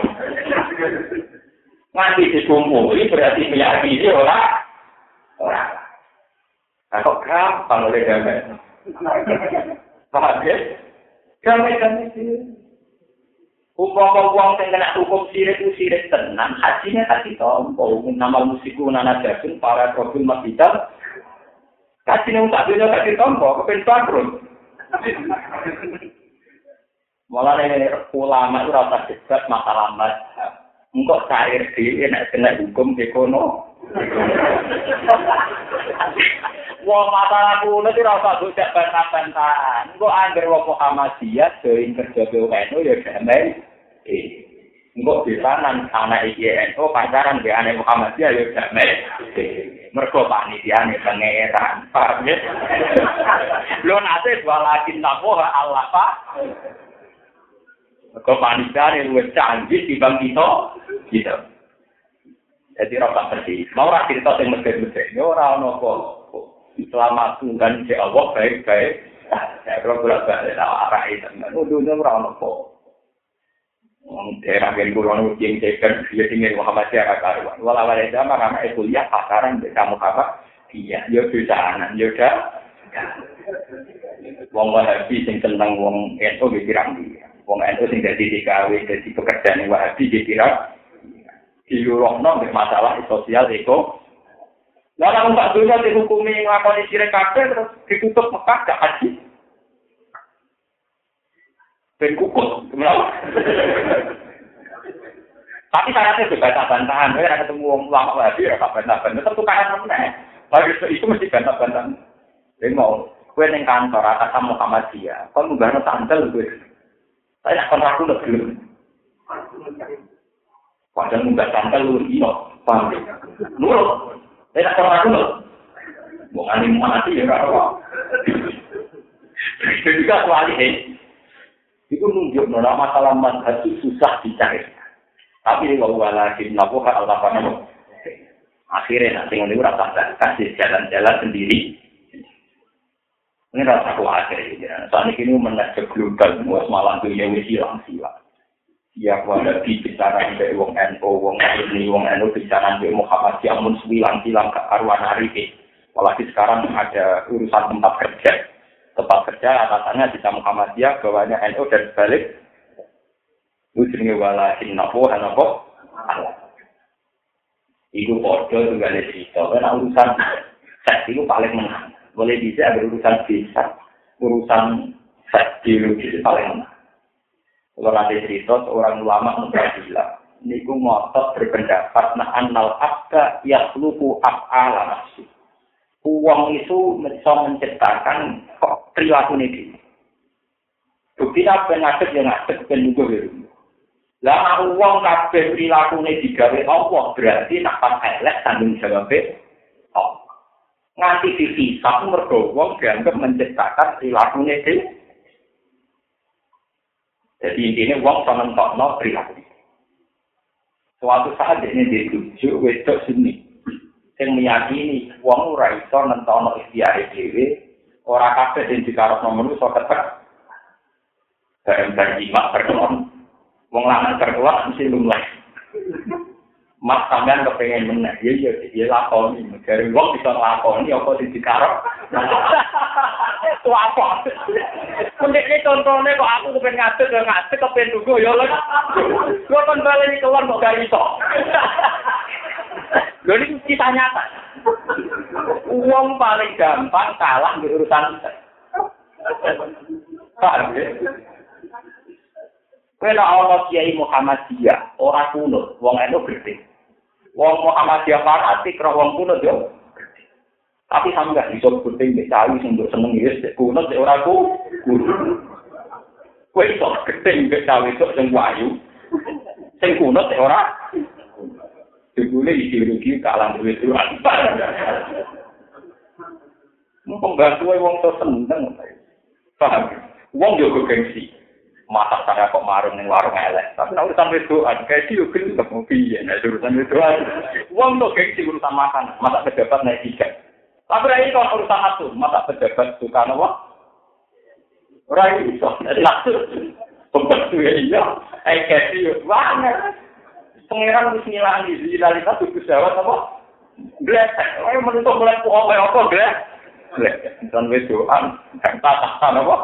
Nganti dikumpuli berarti meyakini ora. Kok gampang oleh damai. Paham ya? Damai sih. Uang yang kena hukum sirik tenang, hajinya tak ditompo. Nama musiku nana jasun para profil masjidal. Hajinya tak dunia tak ditompo, kepen bangkrut. Malah ini ulama itu rasa debat masalah mazhab. Engkau cair di nak kena hukum ekonomi. Wong masalah kulo itu rasa bocah bantah-bantahan. Engkau anggar wong Muhammadiyah join kerja BUMN ya damai. Engkau bisanan anak INO pacaran be anak Muhammadiyah ya damai. Mergo panitiane pangeran. Paham ya? Lho nate walakin naqwa Allah Pak. Mergo panitiane luwih canggih dibanding kita. Gitu. Jadi rasa bersih. Mau ora cerita sing mesir-mesir. Ora ono apa. Selamat Tuhan si Allah baik-baik. Saya kira balik arah itu. Dunia ora ono apa. Daerah yang kurang yang cekan dia tinggal Muhammadiyah karuan. Walau ada zaman anak kuliah pasaran kamu apa? Iya, yo bisanan, yo dah. Wong Wahabi sing tentang wong NU dikirang dia. Wong NU sing dadi DKW dadi pekerjaan Wahabi dikirang diurungno masalah sosial eko. Lah Mbak Dunia dihukumi nglakoni sirik kabeh terus ditutup Mekah gak haji. Ben kukut, kenapa? Tapi syaratnya juga bantah-bantahan. Saya ada ketemu wong lama Wahabi ya bantah-bantahan. Tetap tukaran meneh. Habis itu mesti bantah-bantahan. Saya mau kowe ning kantor atas Muhammadiyah, kon munggahno sandal kowe. Saya kon aku lho belum. Padahal munggah sandal lu ino, paham. Nurut. Saya kon aku lho. Wong alim mati ya ora apa. Jadi juga soalnya itu nunjuk masalah mazhab itu susah dicari. Tapi walakin nabuha Allah panamu. Akhirnya nanti ini rasa kasih jalan-jalan sendiri. Ini rasa khawatir ya. Saat ini menajak global semua malam dunia hilang sila. Ya pada bicara dari wong NU, wong NU bicara dari Muhammadiyah mun silang-silang ke arwah hari. Apalagi sekarang ada urusan tempat kerja. Tempat kerja atasannya di Muhammadiyah, bawahnya NU dan sebalik. Itu jenenge walakin nabuha napa? Itu order juga ada cerita. Karena urusan seks itu paling menang. Boleh bisa ada urusan bisa, urusan seks biologis paling menang. Kalau nanti cerita seorang ulama Mu'tazilah, niku ngotot berpendapat nah annal abda yakhluqu af'ala nafsi. Uang itu bisa menciptakan perilaku ini. Bukti apa ngadeg yang ngadeg penunggu biru. Lah uang kabeh perilaku ini digawe Allah berarti nak pas elek tanggung jawab Allah. Nganti dihisab mergo wong dianggap menciptakan perilaku ini. Jadi intinya wong menentokno perilaku. Suatu saat ini dirujuk wedok sini. Yang meyakini wong ora iso nentono ikhtiar dhewe ora kabeh sing dikarepno manusa ketek bareng imak berkelon wong lanang berkelon mesti lumleh mas sampean kepengin meneh ya lakoni dari wong bisa lakoni apa sing dikarep apa mendekne contone kok aku kepen ngadeg kepen nunggu ya lho kok kon baleni kelon kok gak iso. Jadi kita nyata. Uang paling gampang kalah di urusan kita. Paham ya? Kalau Allah Kiai Muhammadiyah, orang kuno, wong NU gede. Wong Muhammadiyah fanatik, wong kuno yo. Tapi sama gak bisa gede, gak tahu untuk seneng ya, kuno orang kuno. Kue iso gede, gak tahu itu sing wayu, sing kuno orang. Jebule ideologi kalah duwe Tuhan. Pembantu wong to seneng. Paham? Wong yo gengsi. Masak saya kok marung ning warung elek. Tapi nek urusan wedoan, gengsi yo gelem piye nek urusan wedoan. Wong to gengsi urusan makan, masak pejabat naik tiga. Tapi ra iso urusan atu, masak pejabat suka apa? Ora iso. Langsung pembantu iya. Gengsi yo banget. Pengiran wis ngilangi realitas tubuh jawab apa? Blek. Ayo menuntut mulai apa blek. Dan wedoan, dan tatahan apa?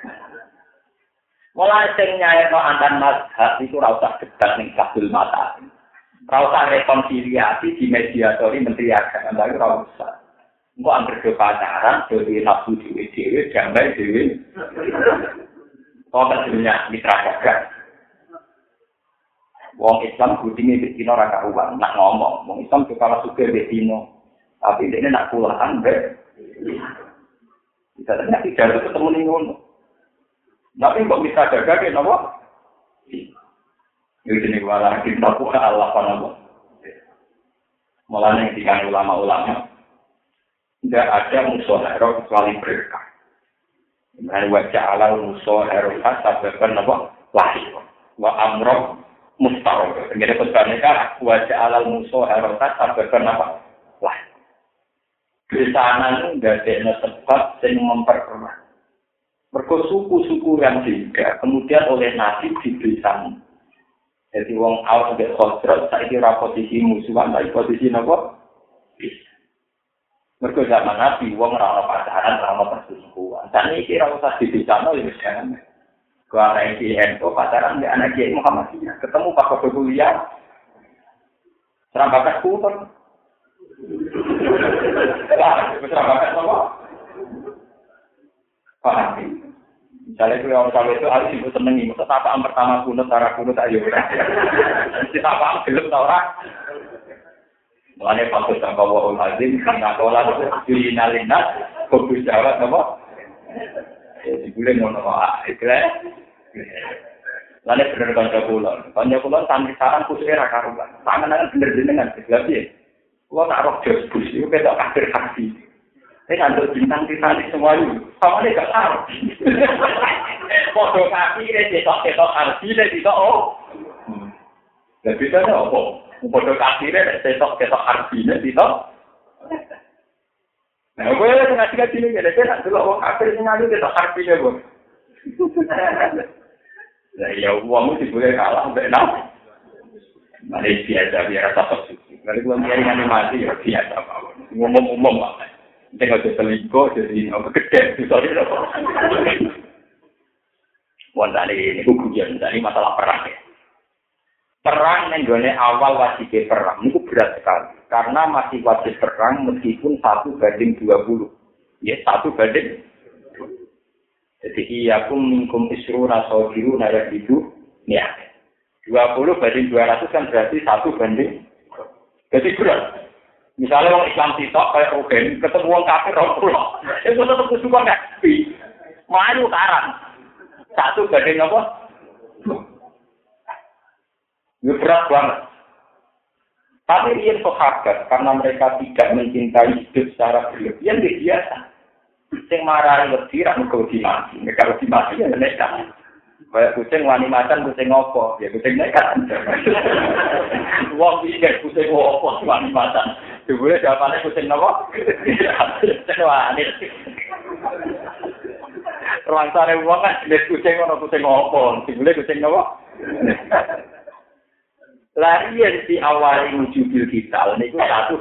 Mulai sing nyairno antan mazhab itu ora usah debat ning kabul mata. Ora usah rekonsiliasi di mediatori menteri agama lagi ora usah. Engko anggere do pacaran, do nafsu dhewe-dhewe, damai dhewe. Kok dunia mitra dagang. Wong Islam kudune dina ora karuan, nak ngomong, wong Islam kok kalah sugih dina. Tapi dene nak kulahan kita tanya tidak ketemu nih ngono. Tapi kok bisa jaga ke nopo? Ini jenis wala kita buka Allah nopo. Mulanya ketika ulama-ulama tidak ada musuh hero kecuali berkah. Dan wajah Allah musuh hero sababkan nopo lahir. Wa amroh mustarok. Jadi pesannya wajah Allah musuh hero sababkan nopo lahir. Besanan nggak ada sebab yang memperkeruh. Mergo suku-suku yang juga kemudian oleh nasib dibesan. Jadi wong awal sampai khosrot saya kira posisi musuhan, tapi posisi nopo. Mergo zaman Nabi wong ora ono pacaran, ora ono perselingkuhan. Dan iki ora usah dibesan oleh jangan. Kau anak IN pacaran dengan anak Kiai Muhammadiyah, ketemu Pak Kuliah, serambakan kultur. Wah, serambakan apa? Paham? Misalnya kalau itu harus ibu senengi, maksud apaan pertama kunut, cara kunut ayo. Mesti apaan gelap tau orang. Mulanya Pak Ustaz Kawahul Azim, ngakola dilinalinas, fokus jawab apa? Dibulen ngono itu lah. Lalu bener kanca kulon sampai sekarang khususnya rakaruan. Tangan bener dengan sebab ya. Kulo nak roh jos bus itu kita akhir saksi. Saya ngantuk bintang semua itu, sama dia gak tahu. Foto kaki dia cetok arti dia tidak oh. Lebih dari apa? Foto kaki dia cetok arti dia tidak. Nah, gue ngasih sini jadi saya nak dulu orang kafir ngaji cetok arti dia gue. Nah, ya uangmu sih boleh kalah, benar. Malaysia biasa biar rasa suci. Kalau gua nyari animasi ya biasa apa. Ngomong apa. Tengok selingkuh jadi apa gede sorry apa. Wonten ini hukuman dari masalah perang ya. Perang yang gone awal wajib perang itu berat sekali. Karena masih wajib perang meskipun 1:20. Ya 1:20. Jadi iyakum minkum isruna sabiru naya itu ya 20:200 kan berarti 1:. Jadi berat. Misalnya orang Islam sitok kayak Rugen ketemu orang kafir 20. Itu tetap kesukaan nggak? Melayu karang 1:. Apa? Itu berat banget. Tapi dia sahabat karena mereka tidak mencintai hidup secara berlebihan dia biasa. Sing marah lebih ramu kau dimati, kalau dimati ya nekat. Kayak kucing wani macan kucing opo, ya kucing nekat. Wong pikir kucing opo wani macan, sebenarnya jawabannya kucing opo? Kucing wani. Ruang sare wong kan jenis kucing ono kucing opo, sebenarnya kucing opo? Lari yang di awal menuju digital, ini 1:.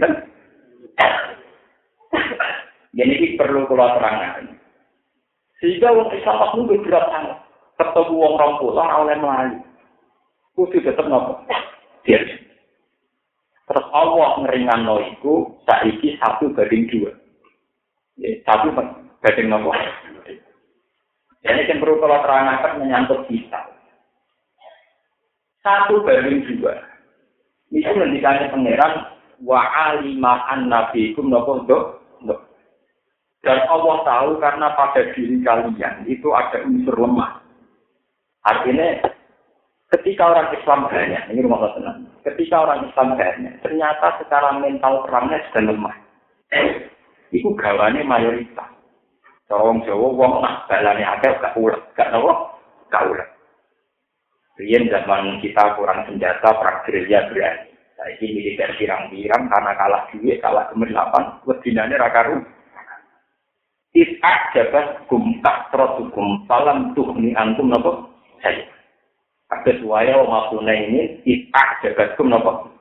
Jadi ini perlu keluar terangkan. Sehingga orang Islam pasti lebih berat sangat. Ketemu orang pulang oleh Melayu. Kudu tetap nopo. Terus Allah ngeringan no itu saiki 1:2. Ya, 1:2 nopo. Jadi yang perlu keluar terangkan menyangkut kita. 1:2. Itu mendikannya pangeran wa alima annabikum nopo do. Dan Allah tahu karena pada diri kalian itu ada unsur lemah. Artinya Ketika orang Islam banyak, ini rumah tenang. Ketika orang Islam banyak, ternyata secara mental perangnya sudah lemah. Iku gawane mayoritas. Wong Jawa wong nak balane akeh gak ulah, gak napa? Gak ulah. Riyen zaman kita kurang senjata, perang gerilya berani. Saiki militer pirang-pirang karena kalah duit, kalah kemerlapan, wedinane ra karu. Is'ak jabat gumtak trotukum salam tuhni antum napa? Saya. Kabeh waya maksudnya ini is'ak jabat gum napa?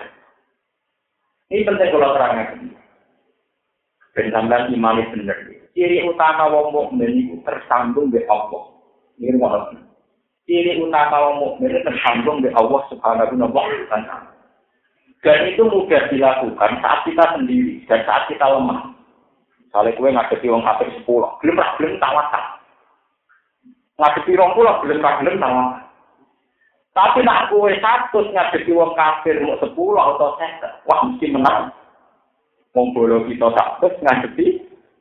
Ini penting kalau terangkan. Ben sampean imane bener. Ciri utama wong mukmin iku tersambung be Allah. Ini ngono. Ciri utama wong mukmin tersambung be Allah Subhanahu wa taala. Dan itu mudah dilakukan saat kita sendiri dan saat kita lemah. Misalnya kowe ngadepi wong kafir 10, gelem tawakal. Ngadepi 20, gelem tawakal. Tapi nak kowe 100 ngadepi wong kafir mau 10 atau 50, wah mesti menang. Wong bolo kita 100 ngadepi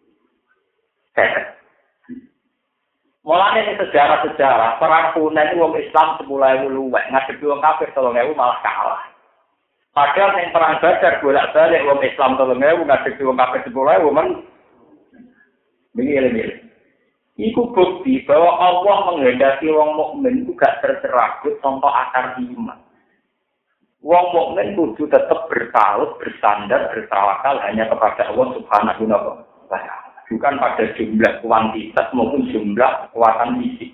mulanya sejarah-sejarah perang Hunain wong Islam 10.000 luwek ngadepi wong kafir 3.000 malah kalah. Padahal yang perang Badar bolak-balik wong Islam 3.000 ngadepi wong kafir 10.000 men begini. Iku bukti bahwa Allah menghendaki wong mukmin itu gak tercerabut tanpa akar iman. Wong mukmin kudu tetap bertaut, bersandar, bertawakal hanya kepada Allah Subhanahu wa taala. Bukan pada jumlah kuantitas maupun jumlah kekuatan fisik.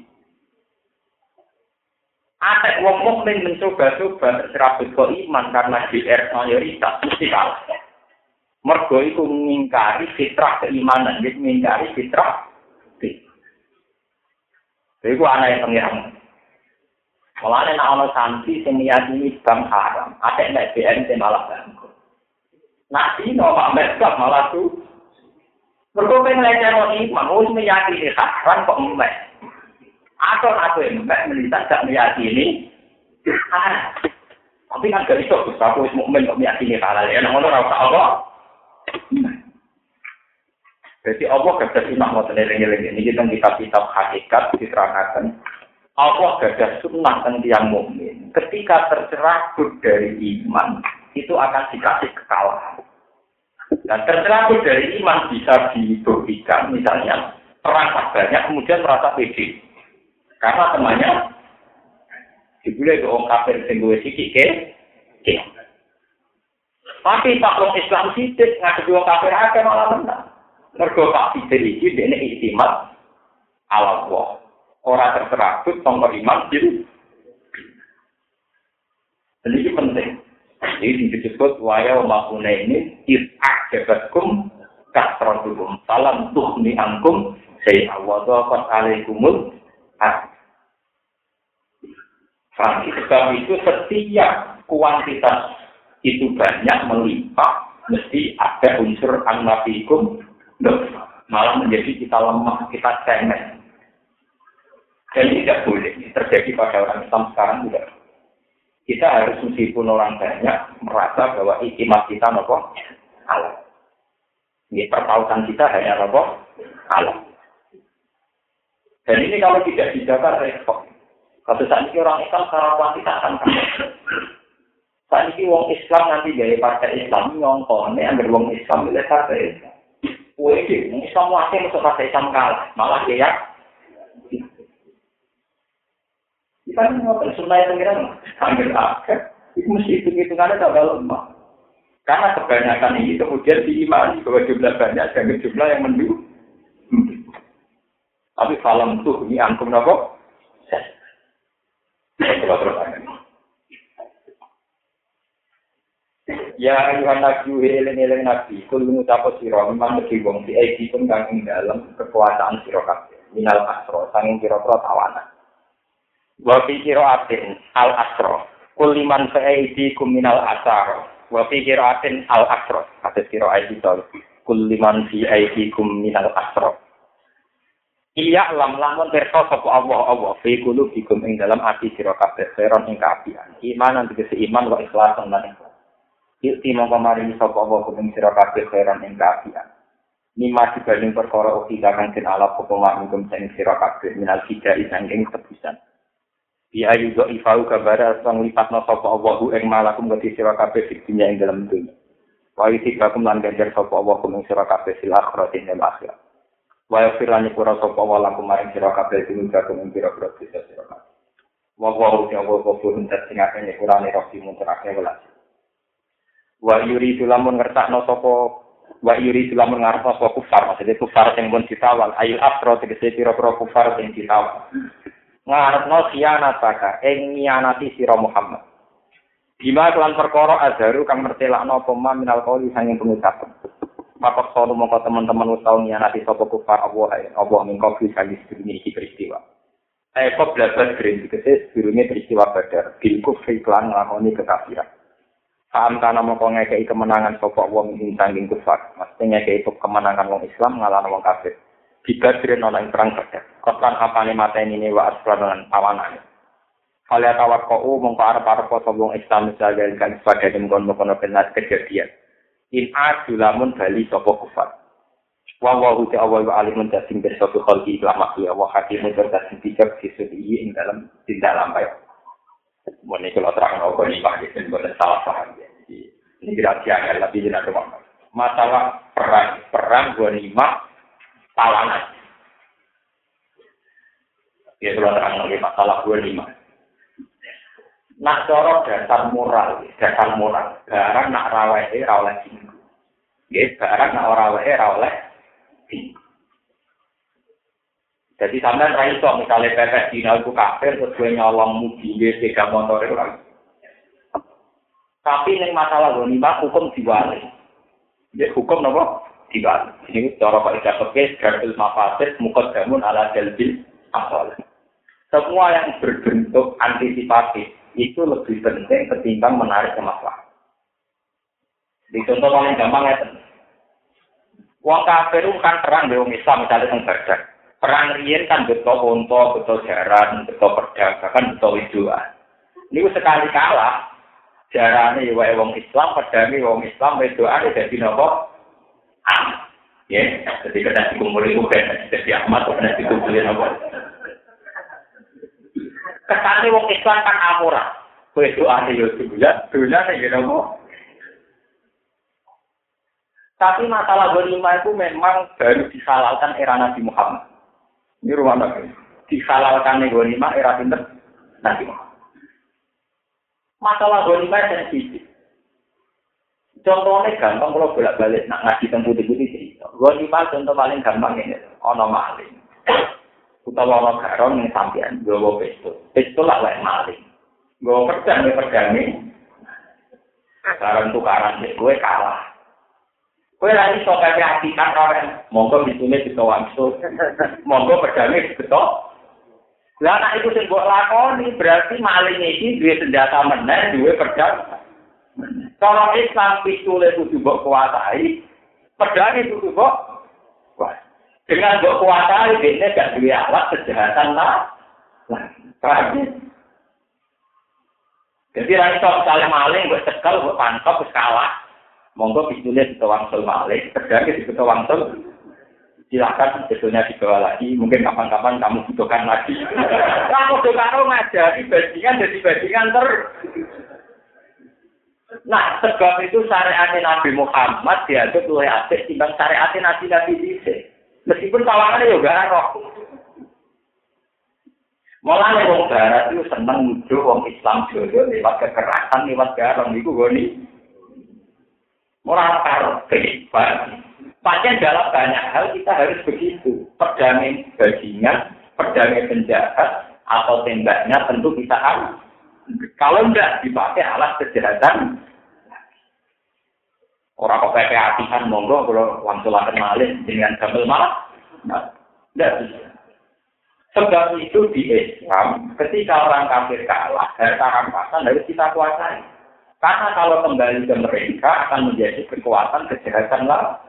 Ada wong mukmin mencoba-coba terserabut ke iman karena GR mayoritas mesti kalah. Mergo itu mengingkari fitrah keimanan, jadi mengingkari fitrah. Itu anak yang pengiran. Mulanya nak ono santri yang meyakini bank haram, ada yang BNT malah bangkrut. Nak dino Pak Mesbah malah tuh. Mereka pengen iman, harus meyakini haram kok mbak. Atau aku yang mbak melihat tak meyakini haram. Tapi kan gak bisa, aku mukmin kok meyakini halal. Ya, namun orang Allah. Jadi Allah gak ada sunnah mau teneling-eling. Ini kita kitab hakikat diterangkan. Allah gak ada sunnah tentang yang mukmin. Ketika tercerabut dari iman, itu akan dikasih kekalahan. Dan tercerabut dari iman bisa dibuktikan, misalnya perang banyak kemudian merasa pede, karena temannya dibully ke orang kafir singgung sikit ke. Tapi Pak Long Islam sidik ngadepi orang kafir akeh malah menang. Mergo Pak Fidel iki dene iktimat ala Allah. Ora tercerabut tanpa iman diri. Ini penting. Ini disebut waya makuna ini is'ak jabatkum kasratukum salam tuhni angkum saya awadhaqat alaikumul sebab itu setiap kuantitas itu banyak melimpah mesti ada unsur annafikum malah menjadi kita lemah, kita cengeng. Dan ini tidak boleh terjadi pada orang Islam sekarang juga. Kita harus meskipun orang banyak merasa bahwa iktimat kita nopo Allah. Ini pertautan kita hanya nopo Allah. Dan ini kalau tidak dijaga repot. Kalau saat ini orang Islam secara kuantitas akan kalah. Saat ini orang Islam nanti gaya partai Islam nyongkone agar orang Islam milih partai Islam. Wih, Islam wakil masuk partai Islam kalah, malah dia kita ini ngotot sunnah yang pengiran, ambil akhir, itu mesti hitung-hitungannya tak lemah. Karena kebanyakan ini kemudian diimani bahwa jumlah banyak dan jumlah yang mendukung. Tapi falam tuh ini angkum napa? Ya ayuhan nabi eling-eling nabi kul ngucapo sira memang mesti wong si iki pun kang ing dalem kekuasaan sira kabeh minal asro sanging pira-pira tawanan. Wa fi qira'atin al-asra kulliman fa'idi kuminal asar wa fi qira'atin al-asra hadis qira'at itu kulliman fi aidikum minal asra iya lamun pirsa sapa Allah fi qulubikum ing dalam ati sira kabeh seron ing kaapian iman tegese iman wa ikhlasan lan ikhlas iki mongko maringi sapa Allah ing sira kabeh seron ing kaapian nima dibanding perkara uti kang den ala apa mangkum sing sira kabeh minal fida sanging tebusan. Ya juga ifau kabara sang lipatna sapa Allahu ing malakum gati sira kabeh di dunya ing dalam dunya. Wa yutibakum lan ganjar sapa Allahu ing sira kabeh fil akhirati ing akhirat. Wa yafirani pura sapa walakum maring sira kabeh ing kakum ing sira sira kabeh. Wa wa ya wa kufurun tasingake kurane rofi muntarake welas. Wa yuri lamun ngertakno sapa wa yuri lamun ngarep sapa kufar maksudnya kufar sing pun ditawal ayil afro tegese pira-pira kufar sing ditawal. Ngarepno khianataka ing ngianati sira Muhammad. Bima kelan perkara azharu kang mertelakno apa minal qauli sanging pengucapan. Maka sono mongko teman-teman wis tau ngianati sapa kufar apa mingko bisa disebut iki peristiwa. Kok blabar green dikese durunge peristiwa Badar, bil kufri lan nglakoni kekafiran. Paham kana mongko ngekeki kemenangan sapa wong ing sanging kufar. Mesti ngekeki kemenangan wong Islam ngalahno wong kafir. Dibadrin ana ing perang Badar. Kosan apane mateni ne wa asranan awanane. Kala tawakku mongko arep-arep sapa wong Islam jagal kan padane mengkon-mengkon penas kejadian. In adulamun bali sapa kufar. Wa ta'ala wa alimun tasing bersatu khalqi lama ya wa hakimun tasing pikir sisi ing dalam tindakan baik. Mone kalau terang apa ini Pak itu boleh salah paham ya. Ini rahasia ya lebih jelas masalah perang ghanimah talangan. Ya kalau terang lagi masalah ghanimah. Nak cara dasar moral, barang nak rawehe ra oleh dinggo. Nggih, barang nak ora rawehe ra oleh dinggo. Jadi sampean ra iso misale pepes dina iku kafir terus kowe nyolong mobil sepeda motor ora. Tapi ning masalah ghanimah hukum diwali. Ya hukum napa? Diwali. Ini cara Pak Ida Pekes garbil mafasid muqaddamun ala jalbil asal. Semua yang berbentuk antisipatif itu lebih penting ketimbang menarik masalah. Di contoh paling gampang ya. Wong kafir kan perang dengan Islam misalnya teng Badar. Perang riyen kan beto unta, beto jaran, beto pedang, bahkan beto widuan. Niku sekali kalah jarane wae wong Islam, pedange wong Islam, widuane dadi napa? Ya, jadi kena dikumpulin bukan jadi Ahmad kena dikumpulin apa? Kesane wong Islam kan amuran. Kowe doane yo dulan ya napa? Tapi masalah ghanimah itu memang baru dihalalkan era Nabi Muhammad. Ini rumah Nabi. Dihalalkan ghanimah era pinter Nabi Muhammad. Masalah ghanimah sensitif. Contohnya gampang kalau bolak-balik nak ngaji tentang putih-putih cerita. Ghanimah contoh paling gampang ini. Ono maling. Utawa ono garon yang sampean nggawa pistol. Pistol lah wae maling. Nggawa pedang ini. Barang tukaran gue kalah. Kowe ra iso kaya atikan ora. Monggo bitune bisa wangsul. Monggo pedange beto. Lah nek iku sing mbok lakoni berarti maling iki duwe senjata meneh, duwe pedang. Cara Islam pistole kudu mbok kuasai, pedange kudu mbok kuasai. Dengan mbok kuasai dene gak duwe alat kejahatan lah. Jadi ra iso misale maling mbok cekel, mbok pantop wis kalah. Monggo pistolnya bisa wangsul maling, pedangnya bisa wangsul. Silakan pistolnya dibawa lagi, mungkin kapan-kapan kamu butuhkan lagi. Kamu karo ngajari bajingan jadi bajingan Nah, sebab itu syariat Nabi Muhammad dianggap luwih apik timbang syariat Nabi dhisik. Meskipun tawangannya juga roh. Mulane wong barat itu seneng nuduh wong Islam dhewe lewat kekerasan, lewat garong iku goni. Moral kehidupan. Pastinya dalam banyak hal kita harus begitu. Pedangnya bajingan, pedangnya penjahat, atau tembaknya tentu kita harus. Kalau tidak dipakai alat kejahatan, orang kok pakai hatian monggo kalau langsung akan malin dengan gambar malah, tidak bisa. Sebab itu di Islam, ketika orang kafir kalah, harta rampasan harus kita kuasai. Karena kalau kembali ke mereka akan menjadi kekuatan kejahatan lah.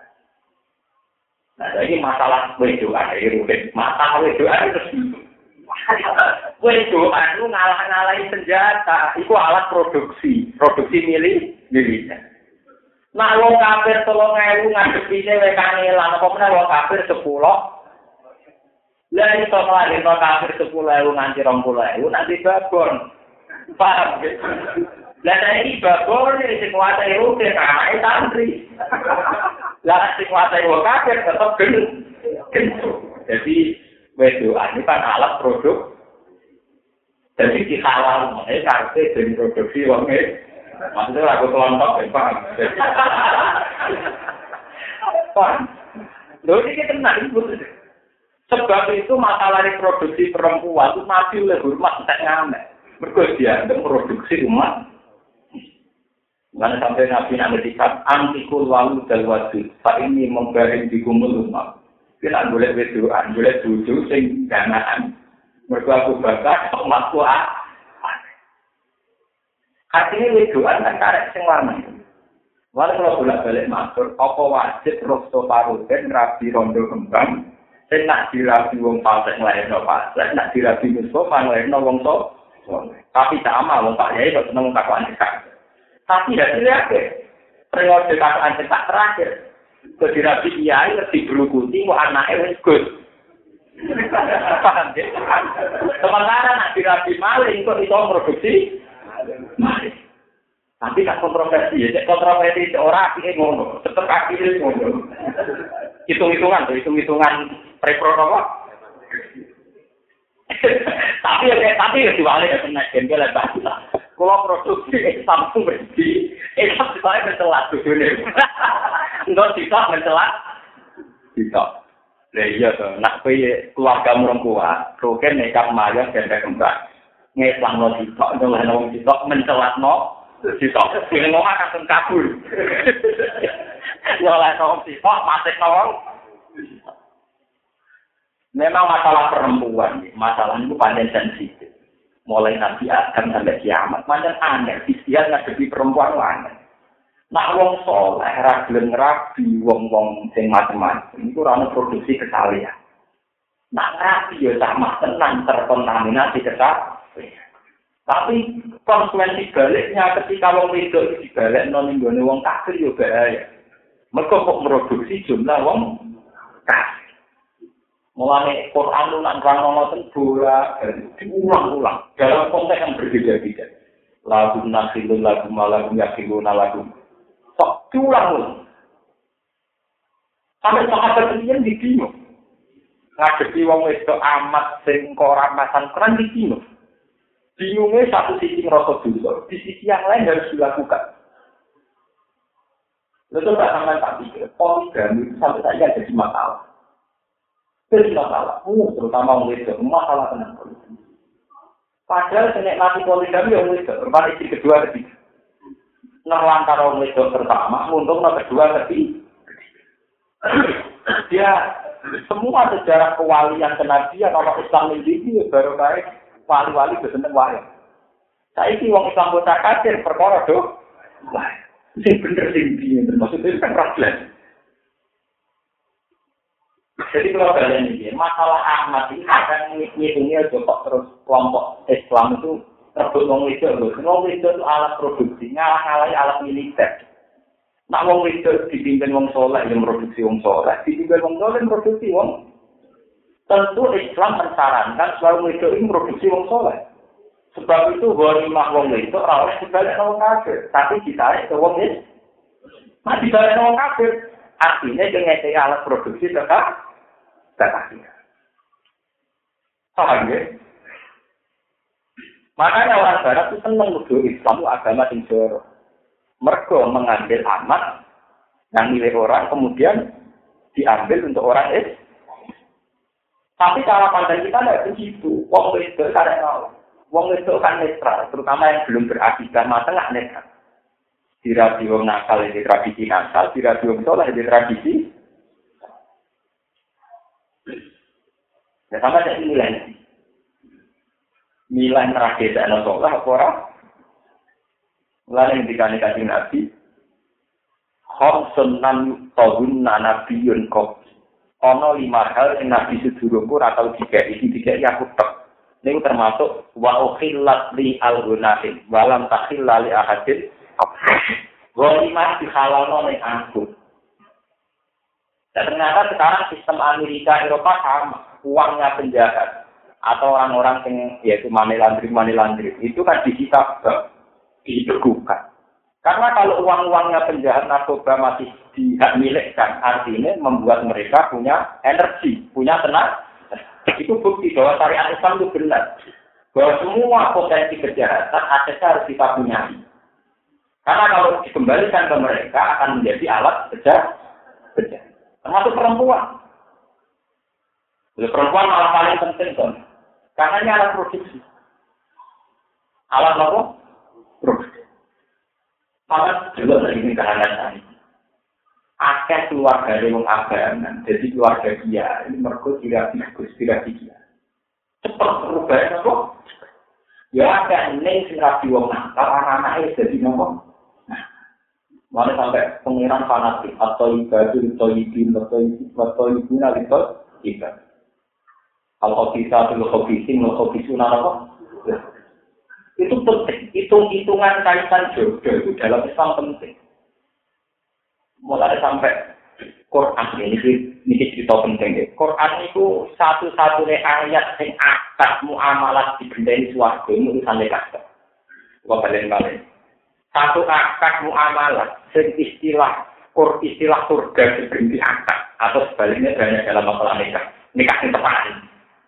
Nah, jadi masalah wedoan itu masalah wedoan itu wedoan itu ngalah-ngalahin senjata, itu alat produksi miliknya. Nah, wong kafir 3.000 ngadepine wekane lan apa meneh wong kafir 10. Lah iso nglahirno kafir 10.000 nganti 20.000 nanti babon. Paham ya? Lah saiki babon sing kuwate rutin anake santri. Lah sing kuwate kafir tetep gendut. Jadi wedoan ini kan alat produk. Jadi di halal ini karena jadi produksi wongnya. Maksudnya lagu kelontok ya paham. Paham. Loh ini kita tenang. Sebab itu masalah reproduksi perempuan itu masih oleh hormat tak ngamek. Mereka dianggap produksi umat. Karena sampai Nabi Nabi antikul walu dan wajud. Pak ini membaring di kumul umat. Kita boleh wedoan, boleh duduk sing ganaan. Mereka aku bakar, umatku artinya wedoan kan karek sing warna. Walau kalau bolak-balik matur, apa wajib rokso paruten rabi rondo kembang, sing nak dirabi wong pasek nglairno pasek, nak dirabi Mustafa nglairno wong to. Tapi sama wong Pak Yai kok seneng kakuan cekak. Tapi hasilnya apa? Periode kakuan cekak terakhir. Kedirabi Kiai lebih berukuti, mau anaknya wis gus. Paham ya? Sementara nak dirabi maling kok iso produksi maling. Tapi tak kontroversi ya, kontroversi orang akhirnya ngono, tetap akhirnya ngono. Hitung-hitungan prepro apa? Tapi ya diwale ya kena jengkel ya bahasa. Kalau produksi Samsung berhenti, itu saya mencelat dunia. Enggak bisa mencelat. Bisa. Lah iya to, nak kowe keluarga merengkuat, roken nekap mayang ganda kembang. Ngeslangno sitok, nyolehno wong sitok mencelatno sitok. Dene ngomong akan kabul. Nyolehno wong sitok, matekno wong. Memang masalah perempuan, masalah itu paling sensitif. Mulai Nabi Adam sampai kiamat, macam aneh. Istilah ngadepi perempuan aneh. Nak wong soleh, ragileng rabi, wong-wong sing macam-macam. Itu rana produksi kesalahan. Nak rabi ya sama tenang terkontaminasi kesalahan. Tapi konsekuensi baliknya ketika wong wedok itu dibalik non-inggone wong kafir ya bahaya. Mereka kok produksi jumlah wong kafir. Mulai Quran lu nak ngomong bola, diulang-ulang dalam konteks yang berbeda-beda. Lagu nasilun, lagu malam, yakilun, lagu sok diulang-ulang. Sampai sahabat kalian di bingung. Ngadepi wong wedok amat sing ora masan keren di bingung. Bingungnya satu sisi ngerasa dulu, di sisi yang lain harus dilakukan. Lalu tak sampai tak pikir, poligami itu sampai saja jadi masalah. Jadi masalah, terutama orang wedok, masalah tentang poligami. Padahal senek mati poligami orang wedok, berarti istri kedua ketiga. Nerlantar orang wedok pertama, untung kedua ketiga. Dia semua sejarah kewalian kenabian orang Islam ini baru baik wali-wali berseneng wayang. Saiki wong Islam bocah kafir perkara do. Wah, sing bener sing piye maksudnya kan problem. Jadi kalau kalian ini, masalah Ahmad ini akan ngitungnya kok terus kelompok Islam itu terbut wong wedok lho. Wong wedok itu alat produksi, ngalah-ngalahi alat militer. Nak wong wedok dipimpin wong soleh yang produksi wong soleh, dipimpin wong soleh yang produksi wong. Tentu Islam mensarankan selalu wedok ini produksi wong soleh. Sebab itu ghanimah wong wedok ora oleh dibalik wong kafir, tapi ditarik ke wong Islam. Nah dibalik wong kafir, artinya dengan alat produksi tetap akhirnya. Paham ya? Makanya orang Barat itu senang nuduh Islam itu agama yang jorok. Mereka mengambil amat yang milik orang kemudian diambil untuk orang Islam. Tapi cara pandang kita tidak begitu. Wong wedok karek Allah. Wong wedok kan netral, terutama yang belum berakidah masa nggak netral. Dirabi wong nakal di tradisi nakal, dirabi wong soleh di tradisi. Ya sama dengan nilai. Nilai terakhir dan soleh apa orang? Lalu yang dikatakan Nabi, Khomsun nan tahun nanabiyun kok. Ono 5 hal yang Nabi sedurungku atau 3 aku tek. Ini termasuk wa ukhillat li al-gunahin walam takhilla li ahadin. Ghanimah dihalalno ning aku. Dan ternyata sekarang sistem Amerika Eropa sama. uangnya penjahat atau orang-orang yang yaitu money laundry itu kan disita dibekukan. Karena kalau uang-uangnya penjahat narkoba masih dihak milikkan, artinya membuat mereka punya energi, punya tenaga. Itu bukti bahwa syariat Islam itu benar. Bahwa semua potensi kejahatan asetnya harus kita punya. Karena kalau dikembalikan ke mereka akan menjadi alat kejahatan. Termasuk perempuan. Perempuan malah paling penting kan. Karena ini alat produksi. Alat apa? Produksi. Maka juga dari kalangan tadi. Akeh keluarga yang agaman, jadi keluarga dia ini mergo tidak dia. Cepat perubahan apa? Ya ada neng sing rapi wong nakal, anak-anaknya jadi nopo. Mana sampai pengiran fanatik atau ibadah atau ibu nalito ibadah. Kalau kita dulu hobi apa? Itu penting. Hitung-hitungan kaitan jodoh itu dalam Islam penting. Mulai sampai Quran ini cerita penting ya. Quran itu satu-satunya ayat yang akad muamalah dibendai suarga itu urusan lekasnya. Coba balik. Satu akad muamalah, istilah surga diberi akad atau sebaliknya banyak dalam masalah nikah yang tepat.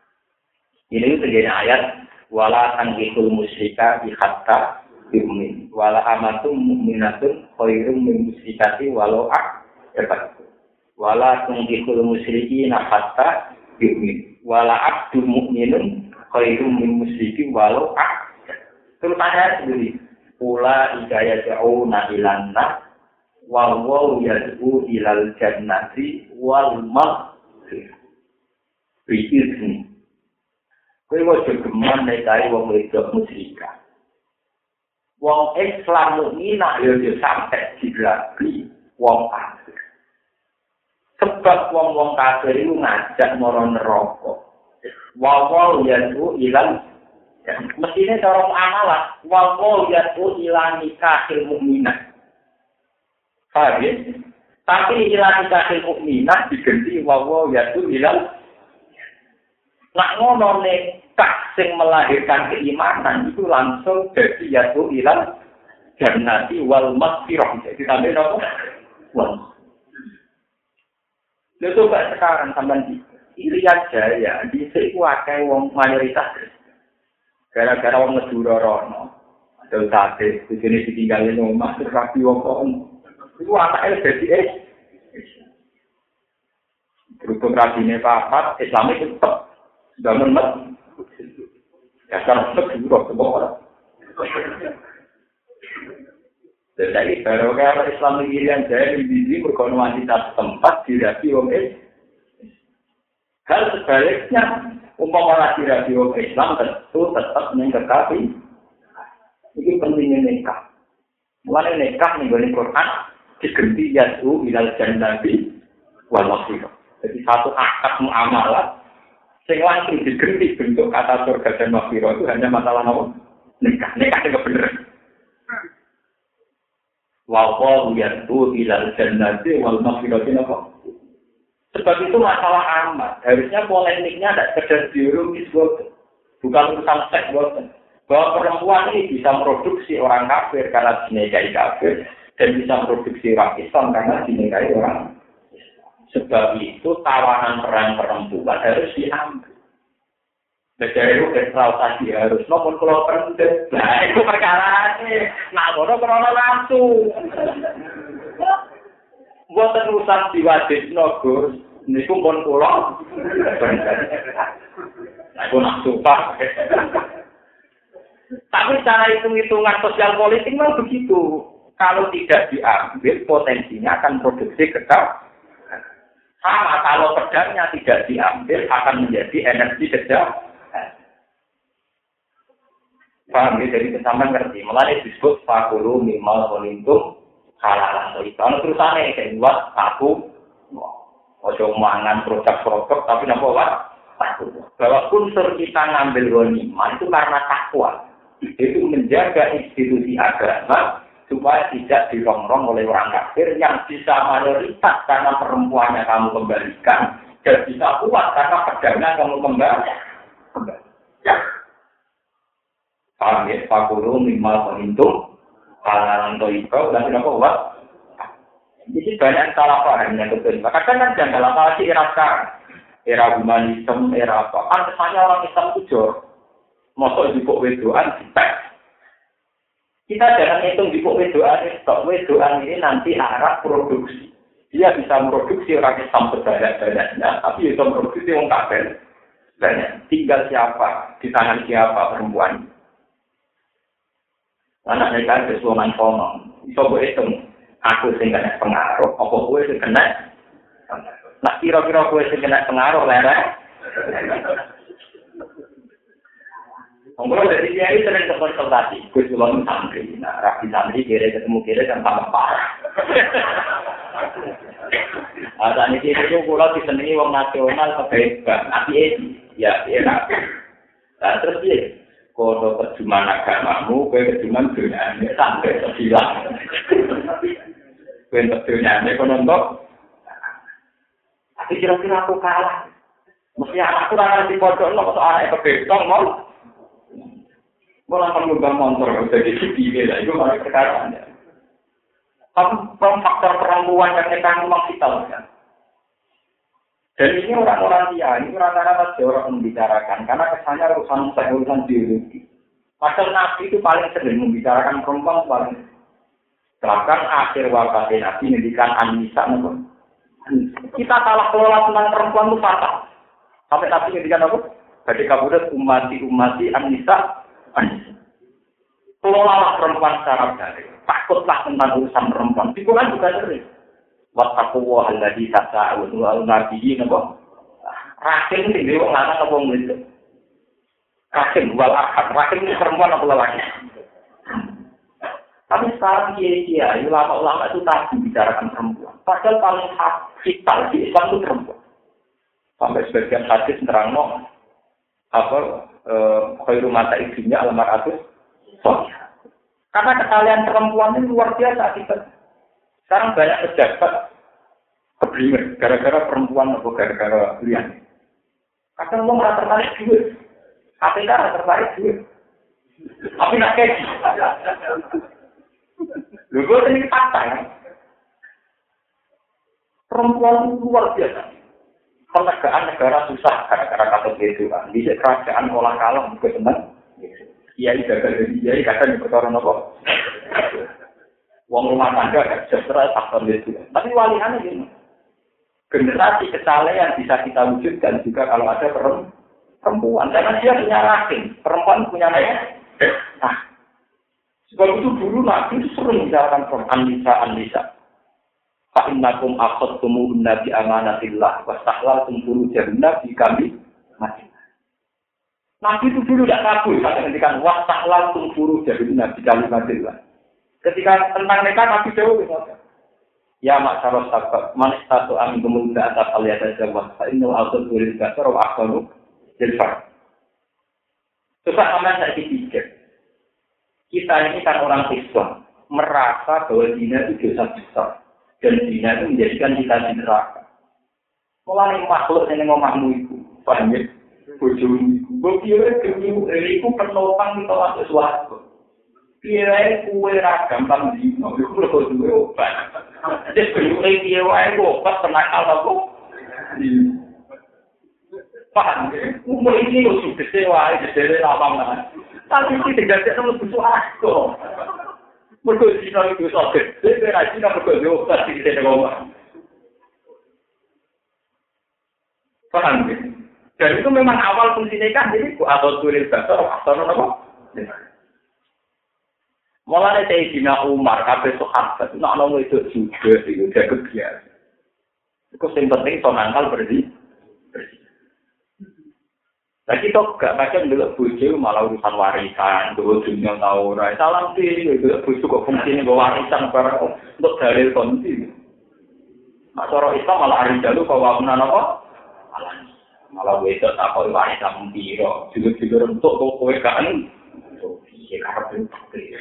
Ini terjadi ayat wala tankihul musyrika hatta yu'min wala amatum mu'minatun khairum min musyrikati walau a'jabatkum wala tankihul musyrikina hatta yu'min wala abdul mu'minun khairum min musyriki walau terus ayat ini ula idaya ja'una ilanna wawaw yad'u ilal jannati wal maghfirah bi'izni. Kowe wae geman nek kaya wong wedok musyrikah. Wong Islam mukminah yo sampai digelagi wong kafir. Sebab wong kafir itu ngajak marang neraka. Wa yadu ilal mestine cara amalah wa yadu ilal nikahil mukminah. Paham ya? Tapi ilal nikahil mukminah diganti wa yadu ilal. Nak ngono nekah sing melahirkan keimanan itu langsung jadi yaitu ilal jannati wal maghfirah. Jadi sampai apa? Wal. Lalu coba sekarang sampean Irian Jaya di situ akeh wong mayoritas gara-gara wong Madura rono. Ada sate di sini ditinggalin omah terus rapi wong kok. Itu anake dadi berhubung rabine papat Islam itu tetap bangun mat, ya sekarang juga semua orang. Jadi baru kalau Islam Irian Jaya di berkonwantitas tempat dirapi wong hal sebaliknya umpama dirapi wong Islam tentu tetap mengkekapi. Ini pentingnya nikah. Mulai nikah nih dari Quran diganti yaitu ilal jannati wal maghfirah. Jadi satu akad muamalah sing langsung diganti bentuk kata surga dan maghfirah itu hanya masalah apa? Nikah itu bener. Wa yatu ilal jannati wal maghfirah apa? Sebab itu masalah amat. Harusnya polemiknya tidak sekedar biologis, bukan urusan seks, bahwa perempuan ini bisa memproduksi orang kafir karena dinikahi kafir dan bisa memproduksi orang Islam karena dinikahi orang. Sebab itu tawanan peran perempuan harus diambil. Dari itu ekstrausasi harus nomor kalau penting. Nah itu perkara ini. Nah bodoh kalau langsung. Buat terusan diwajib Gus. Ini pun pulau. Nah itu langsung pak. Tapi cara hitung-hitungan sosial politik memang begitu. Kalau tidak diambil potensinya akan produksi kekal. Sama kalau pedangnya tidak diambil akan menjadi energi kejam. Paham ya, jadi kesamaan ngerti. Mulai disebut fakulu minimal kolintum halalan. Kalau terusannya kayak buat aku, ojo mangan produk-produk tapi nampak apa? Takut. Bahwa unsur kita ngambil ghanimah itu karena takwa. Itu menjaga institusi agama supaya tidak dirongrong oleh orang kafir yang bisa mayoritas karena perempuannya kamu kembalikan dan bisa kuat karena pedangnya kamu kembali. Paham ya? Fakulu minimal menghitung halalan toibau dan tidak kuat. Jadi banyak salah paham yang betul. Kadang kan jangan dalam hal era sekarang, era humanisme, era apa? Kan kesannya orang Islam itu jor, masuk di pok wedoan, kita jangan hitung di pok wedoan, stok wedoan ini nanti arah produksi. Dia bisa memproduksi orang Islam sebanyak-banyaknya, tapi bisa memproduksi orang kafir banyak. Tinggal siapa, di tangan siapa perempuan. Anak mereka itu suaman ngomong, bisa berhitung. Aku sing kena pengaruh, apa kowe sing kena? Nah, kira-kira kowe sing kena pengaruh lerek. Ngomong dari dia itu sering konsultasi, gue cuma santri. Nah, rapi santri kira ketemu kira kan tambah parah. Saat ini itu pulau disenangi wong nasional kebaikan, api ya era. Nah, terus dia, kalau terjemahan agamamu, kowe terjemahan dunia sampai terhilang. Kowe terjemahan ekonomi, tapi kira-kira aku kalah. Mesti anakku orang di pondok, lo kok anak kebaikan mau? Mau langsung ngubah motor, jadi sipil lah, itu malah perkaraannya. Faktor perempuan yang kita memang vital kan. Dan ini orang-orang dia, ini rata-rata orang membicarakan, karena kesannya urusan biologi. Padahal Nabi itu paling sering membicarakan perempuan paling. Bahkan akhir wafatnya Nabi mendikan An-Nisa. Kita salah kelola tentang perempuan itu fatal. Sampai Nabi mendikan apa? Jadi kabudat umati An-Nisa. Kelolalah perempuan secara baik. Takutlah tentang urusan perempuan. Itu kan juga sering. Wattaquwa alladzi tasa'un wa nabiyyin apa? Rahim iki wong lanang apa wong wedok? Rahim wal arham. Rahim ini perempuan apa lelaki? Tapi sekarang kiai-kiai ulama-ulama itu tak membicarakan perempuan. Padahal paling vital di Islam itu perempuan. Sampai sebagian hadis nerangno khairu mata ibunya al-mar'atu sholiha. Karena kesalahan perempuan ini luar biasa kita. Sekarang banyak pejabat keblinger gara-gara perempuan atau gara-gara lian. Kadang lo merasa tertarik duit, KPK merasa tertarik duit. Tapi nak kaji. Lu gue ini fakta ya. Perempuan luar biasa. Penegakan negara susah gara-gara kata itu kan. Di kerajaan olah kalah juga senang. Kiai gagal dari kiai kadang diperkara apa? Wong rumah tangga kan sejahtera faktor itu. Tapi waliannya gini. Generasi kesalehan bisa kita wujudkan juga kalau ada perempuan. Karena dia punya rahim. Perempuan punya naya. Nah. Sebab itu dulu Nabi itu sering menjalankan perempuan. An-Nisa. Fa'innakum akhadtumun nabi amanatillah. Wastahlaltum furujahunna bi kami mati. Nabi itu dulu tidak kabul. Kata ketika wastahlaltum furujahunna bi kami matillah. Ketika tentang mereka Nabi jauh ya masyarakat sahabat man satu amin kemudian atas aliat jawab ini auto tulis dasar atau akal jelfar susah aman saya pikir kita ini kan orang Islam merasa bahwa zina itu dosa besar dan zina itu menjadikan kita di neraka mulai makhluk yang ngomahmu itu banyak bojomu buktinya itu penopang kita masuk suatu piye kuwe ra gampang dino iku lho duwe obat. Wis kuwe piye wae obat penakal apa? Paham ya? Umur ini lho sugese wae dhewe lawangan. Tapi iki digate nang butuh aku. Mergo dino iku sok dhewe ra dino mergo obat iki dhewe ngomong. Paham ya? Dan itu memang awal fungsinya kan jadi atau tulis dasar atau apa? Mulanya Sayyidina Umar, kabeh sahabat, nak nongol itu juga, itu jago biasa. Itu yang penting so nangkal bersih. Nah kita gak macam dulu bojo malah urusan warisan, dulu dunia tahu rai. Salam sih, itu bojo kok fungsinya bawa warisan barang untuk dalil konti. Nah cara Islam malah hari dulu bawa menan apa? Malah wedok tak kau warisan piro, juga untuk kowe kan. Karena itu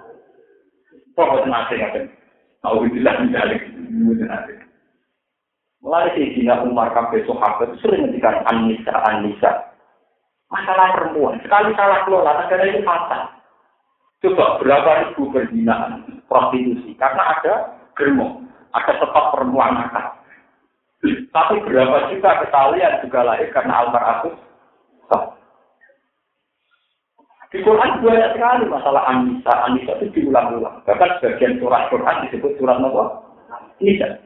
pokoknya nanti tahu bilang balik Mulai Sayyidina Umar kabeh sahabat sering ngendikan An-Nisa. Masalah perempuan, sekali salah kelola negara itu fatal. Coba berapa ribu perzinaan prostitusi karena ada germo, ada tempat perempuan nakal. Tapi berapa juta kesalahan juga lahir karena al-mar'atus. Di Quran banyak sekali masalah An-Nisa. An-Nisa itu diulang-ulang. Bahkan sebagian surah Quran disebut surat apa? Nisa.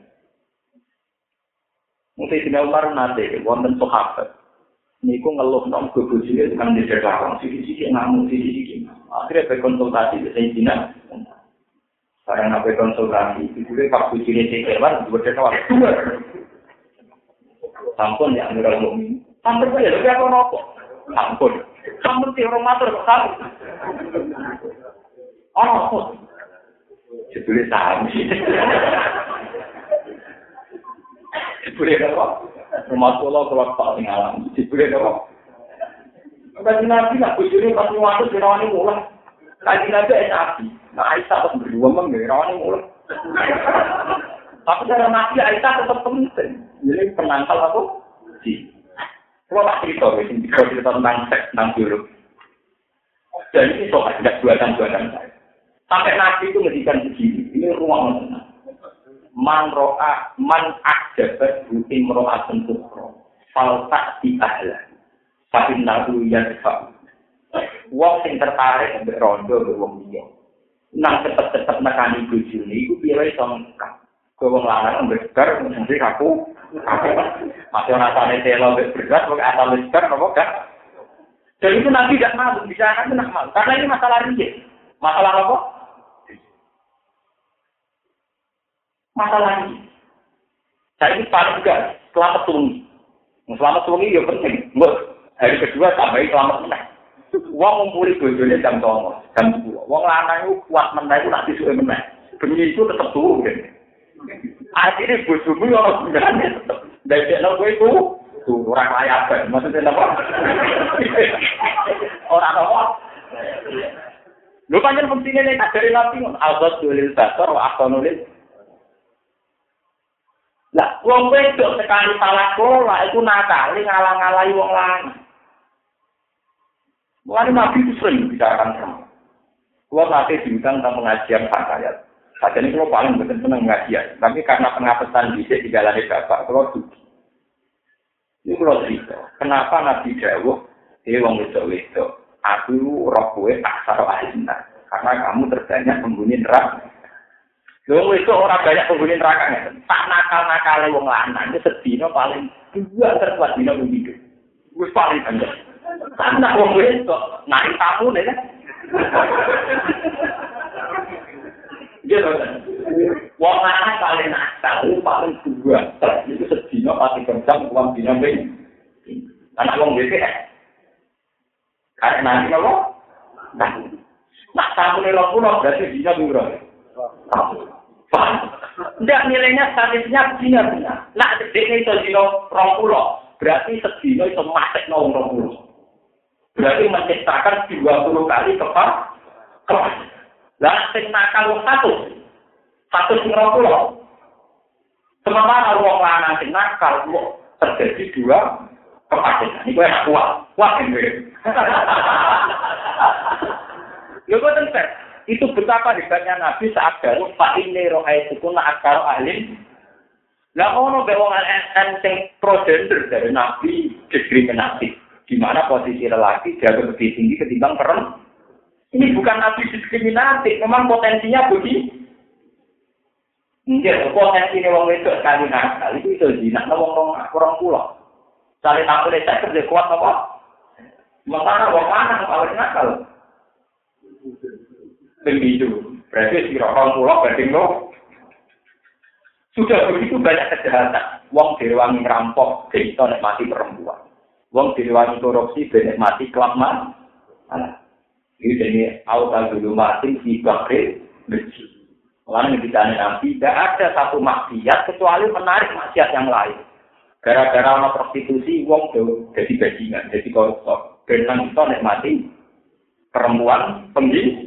Mungkin Sayyidina Umar nate wonten sahabat niku ngeluh nang bojone tekan di Jakarta sisi-sisi ngamuk sisi-sisi. Akhirnya berkonsultasi dengan Sayyidina. Barang apa konsultasi itu pak bojone cekewan bojone awak. Sampun ya amiral mukmin. Sampun ya lho apa nopo? Sampun. Sampun ti orang matur kok. Oh. Jebule sami. Boleh apa? Rumah pulau kalau tak tinggalan, boleh apa? Bagi nabi nak bujuri pas waktu dirawani mulai. Lagi nabi nabi, nah Aisyah pas berdua mengirawani mulai. Tapi cara nabi Aisyah tetap penting. Jadi penangkal apa? Si. Kalau tak cerita, kalau cerita tentang seks, tentang biologi. Dan ini soal tidak buatan saya. Sampai nabi itu ngedikan begini, ini ruang mana? Man akjabat butim ro'atun tukro faltak di ahla tapi nahu yadfa wong sing tertarik ambek rondo ambek wong liya nang cepet-cepet nekani bojone iku piye iso ngkak wong lanang ambek bar mesti aku masih rasane telo ambek berat kok asal bar apa gak jadi itu nanti gak mau bicarakan itu nak mau karena ini masalah riye masalah apa masalah ini. Saya ini paling juga selamat sungi. Selamat sungi ya penting. Hari kedua tambahin selamat menang. Wong ngumpuli bojone jam 09.00, jam 10. Wong lanang itu kuat menang itu nanti suwe menang. Bengi itu tetap turun. Akhirnya bojomu ora gunane tetep. Dadekno kowe iku ora layaban. Maksudnya apa? Ora apa. Lho pancen pentingnya nek dari nabi al-ghadz lil basar wa ahsanul. Lah, wong wedok sekali salah kelola itu nakal, ngalang-alangi wong lanang. Mulane nabi itu sering bicarakan sama. Gua nanti diundang tentang pengajian fakayat. Saat ini kalau paling betul senang pengajian, tapi karena pengapesan bisik di jalan bapak, kalau dugi. Ini kalau cerita, kenapa Nabi Dawuh, wong wedok-wedok, aku roh kowe aksara ahlinna, karena kamu terbanyak penghuni neraka. Wong itu orang banyak penghuni neraka tak nakal-nakale wong lanang itu sedina paling 2 terkuat dina hidup. Wis paling banyak. Karena wong itu naik tamu nih kan. Gitu kan. Wong lanang paling nakal paling 2 itu sedina paling kencang uang dina ben. Karena wong itu karena nanti kalau nak tamu nih lo berarti dina murah. Tidak nilainya statistiknya benar. Nak sedikit itu dino 20, berarti sedino itu masuk no 20. Berarti menciptakan 20 kali kelas. Lah sing nakal 1 sing 20. Sementara wong lanang sing nakal terjadi 2 kepastian. Ini gue enak kuat ini. Lho kok tentu. Itu betapa hebatnya Nabi saat baru Pak ini rohai sukun akal ahli. Lah ono be wong sing pro gender dari Nabi diskriminatif. Di mana posisi lelaki jauh lebih tinggi ketimbang perempuan. Ini bukan Nabi diskriminatif, memang potensinya begini. Iya, potensinya wong wedok sekali nakal itu zina wong orang pulau. Cari tamu desa kerja kuat apa? Makanya wong lanang paling nakal. Begitu, berarti si orang pulau banding lo. Sudah begitu banyak kejahatan. Wong direwangi ngerampok, kita nikmati perempuan. Wong direwangi korupsi, nikmati kelab mas. Ini jadi auta dulu mati di bakri bersih. Orang yang ditanya Nabi, tidak ada satu maksiat kecuali menarik maksiat yang lain. Gara-gara sama prostitusi, wong jadi bajingan, jadi koruptor. Dan kita nikmati perempuan begitu.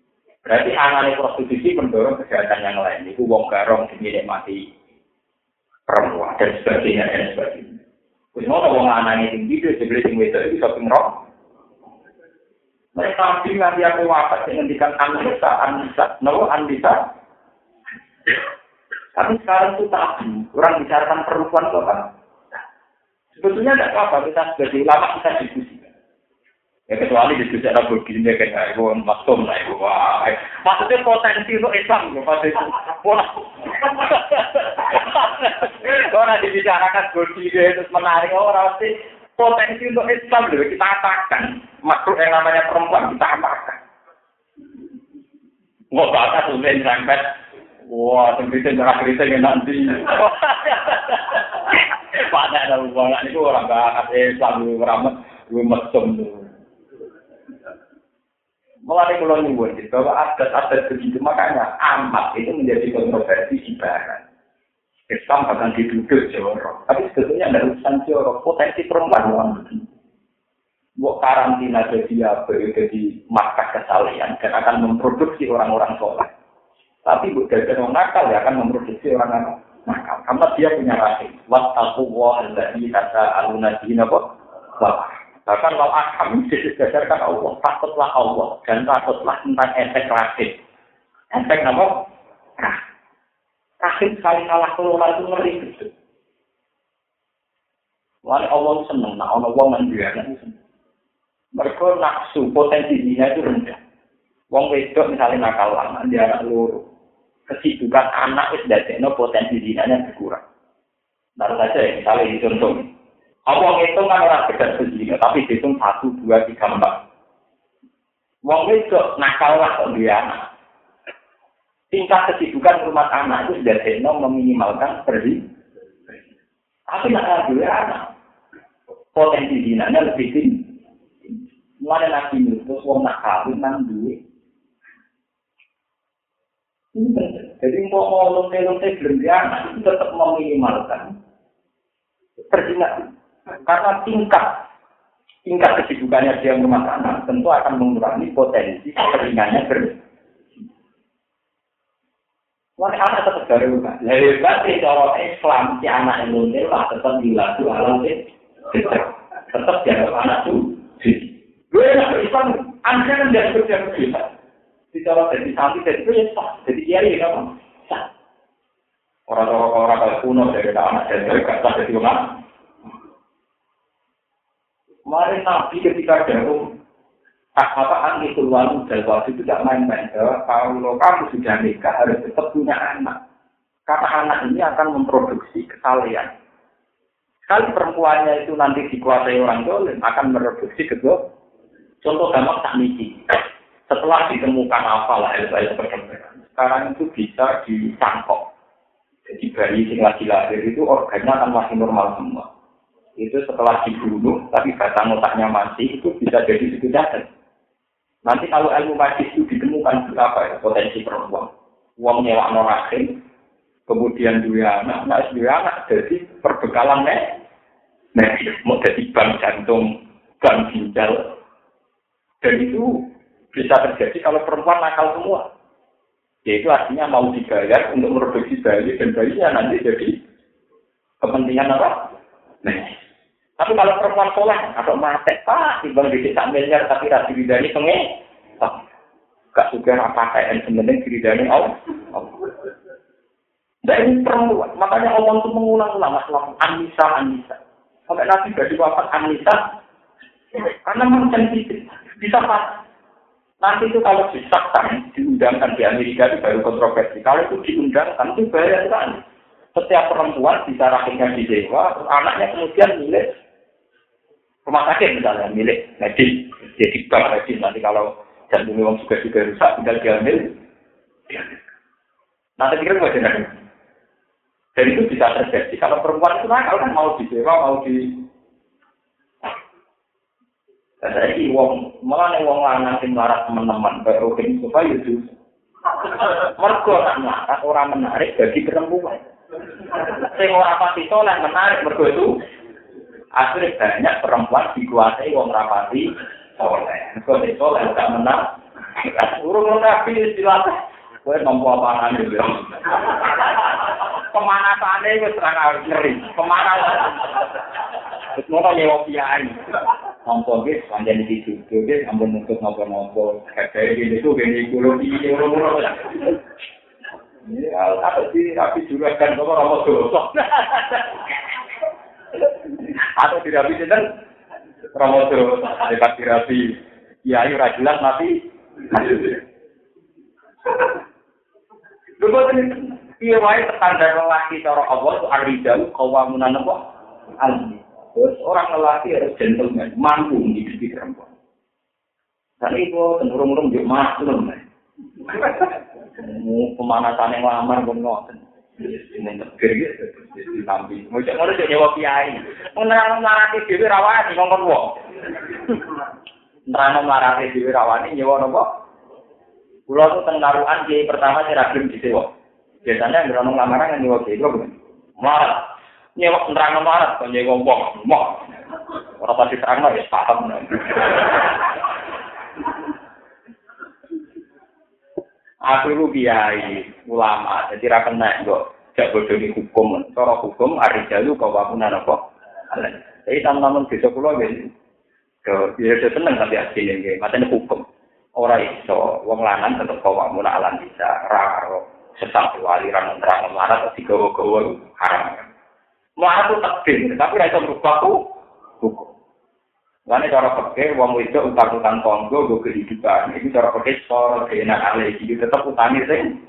Berarti anane prostitusi mendorong kejahatan yang lain. Itu wong garong dinikmati perempuan dan sebagainya dan sebagainya. Kuwi wong lanang tinggi dia sebeli sing wedok iki iso pingrok. Mereka nabi nganti aku wafat yang ngendikan Anisa, no Anisa. Tapi sekarang itu tabu, orang bicarakan perempuan kok kan. Sebetulnya tidak apa-apa, kita sebagai ulama kita diskusi. Ya kecuali diskusi ada begini kayak ibu maksum lah ibu. Wah, maksudnya potensi untuk Islam loh pada itu. Orang dibicarakan begini terus menarik orang sih potensi untuk Islam loh kita apakan. Makhluk yang namanya perempuan kita apakan. Nggak bakal sulit sampai. Wah, tembitin cerah-cerita nanti. Pada ada hubungan itu orang bakat Islam ramah mesum tuh. Mulai kalau nyebut bahwa adat-adat begitu makanya amat itu menjadi kontroversi di barat. Islam bahkan diduduk jorok, tapi sebetulnya ada urusan jorok potensi perempuan orang begini. Buat karantina jadi markas kesalahan dan akan memproduksi orang-orang soleh. Tapi bukan orang nakal ya akan memproduksi orang nakal. Karena dia punya rahim. Wattaqullah allazi tasaaluna bihi wa bahkan kalau akam didasarkan Allah, takutlah Allah dan takutlah tentang efek rahim. Efek apa? Rahim sekali salah kelola itu ngeri gitu. Wali Allah senang, nah Allah menjualnya itu. Mereka nafsu potensi zina itu rendah. Wong wedok misalnya nakal lama dia anak loro. Kesibukan anak itu dadekno potensi zinanya berkurang. Baru saja ya, misalnya dicontoh. Wong itu kan orang sekedar berzina, tapi dihitung 1, 2, 3, 4. Wong wedok nakal lah kok dia anak. Tingkat kesibukan rumah anak itu sudah meminimalkan berzina. Tapi nak ada anak. Potensi zinanya lebih tinggi. Mulai nabi itu, wong nak kawin nang duit. Ini penting. Jadi mau lonte-lonte belum dia anak itu tetap meminimalkan perzinahan. Karena tingkat kesibukannya dia rumah tangga tentu akan mengurangi potensi keringannya berzina. Wah, anak tetap dari rumah. Lebih baik cara Islam si anak yang lonte lah tetap dilaku alam tetap dianggap anak itu. Gue nak Islam, anda kan tidak kerja. Bicara dari samping dari itu ya sah. Jadi kiai kan sah. Orang-orang kalau kuno dari anak dari kata dari rumah. Mari Nabi ketika jauh, apa itu walu dari waktu itu tidak main-main. Kalau kamu sudah nikah harus tetap punya anak. Karena anak ini akan memproduksi kesalahan. Sekali perempuannya itu nanti dikuasai orang dolim akan memproduksi kedua. Contoh gampang tak misi. Setelah ditemukan apalah LPS perkembangan, sekarang itu bisa dicangkok. Jadi bayi yang lagi lahir itu organnya akan masih normal semua. Itu setelah dibunuh, tapi batang otaknya masih, itu bisa jadi sekedar. Nanti kalau ilmu medis itu ditemukan berapa ya potensi perempuan. Uang nyewa rahim, kemudian dua anak jadi perbekalan medis, mau jadi bank jantung, bank ginjal. Dan itu bisa terjadi kalau perempuan nakal semua. Yaitu artinya mau dibayar untuk memproduksi bayi dan bayinya nanti jadi kepentingan apa? Nah. Tapi kalau perempuan soleh atau mati, timbang di desa miliar tapi rasi bidani gak suka apa kayak sebenarnya bidani Allah. Dan ini perempuan, makanya Allah itu mengulang-ulang masalah Anisa. Sampai Nabi bagi wafat Anisa, karena memang sensitif. Bisa pas. Nanti itu kalau disahkan, diundangkan di Amerika itu baru kontroversi. Kalau itu diundangkan, itu bahaya sekali. Setiap perempuan bisa rahimnya disewa, anaknya kemudian milik rumah sakit misalnya, milik medis. Jadi bank medis, nanti kalau jantung memang juga rusak, tinggal diambil. Nanti pikir bagaimana? Dan itu bisa terjadi. Kalau perempuan itu nakal kan mau disewa, mau di... Jadi malah wong lanang sing larat teman-teman kayak Rokin supaya itu mergo nak orang menarik bagi perempuan. Sing ora pati soleh menarik mergo itu akhirnya banyak perempuan dikuasai wong rapati soleh. Mergo soleh gak menang. Urung Nabi istilah kowe nampa apaan iki. Pemanasane wis ora ngeri. Pemanasan. Wis ngono nyewa kiai. Ampun nggih, pancen iki juga nggih, ampun nuntut napa-napa. Kayak iki gini kulo iki ora. Ya, tapi juga kan kok ora dosa. Atau tidak bisa dan Ramodo dekat terapi ya ayo jelas mati lho ini piye wae standar lelaki cara Allah itu ar-rijal qawamun apa terus orang lelaki harus gentleman mampu hidup perempuan dan itu cenderung yo maklum pemanasan yang lamar pun ngoten ini negeri gitu, ditampi. Mungkin orang jadi nyewa kiai. Menerang melarati dewi rawani ngomong wong. Menerang melarati dewi rawani nyewa nopo. Pulau itu tengaruhan kiai pertama saya ragam di sewa. Biasanya menerang lamaran yang nyewa kiai itu bukan. Marat, nyewa menerang marat, kalau nyewa wong, mau. Orang pasti terang lah ya paham. Aku itu kiai ulama, jadi ra kena kok jak bodoni hukum. Cara hukum ar-rijalu qawamunan apa? Jadi teman-teman desa kula nggih ya seneng tapi asline nggih, matane hukum. Ora iso wong lanang tetep qawamun ala bisa ra karo sesatu aliran nerang marat atau digawa-gawa haram. Marat itu takdir, tapi ra iso merubah hukum. Karena cara pakai uang itu utang-utang konggo gue kehidupan. Ini cara pakai soal keenakan lagi. Itu tetap utangnya sih.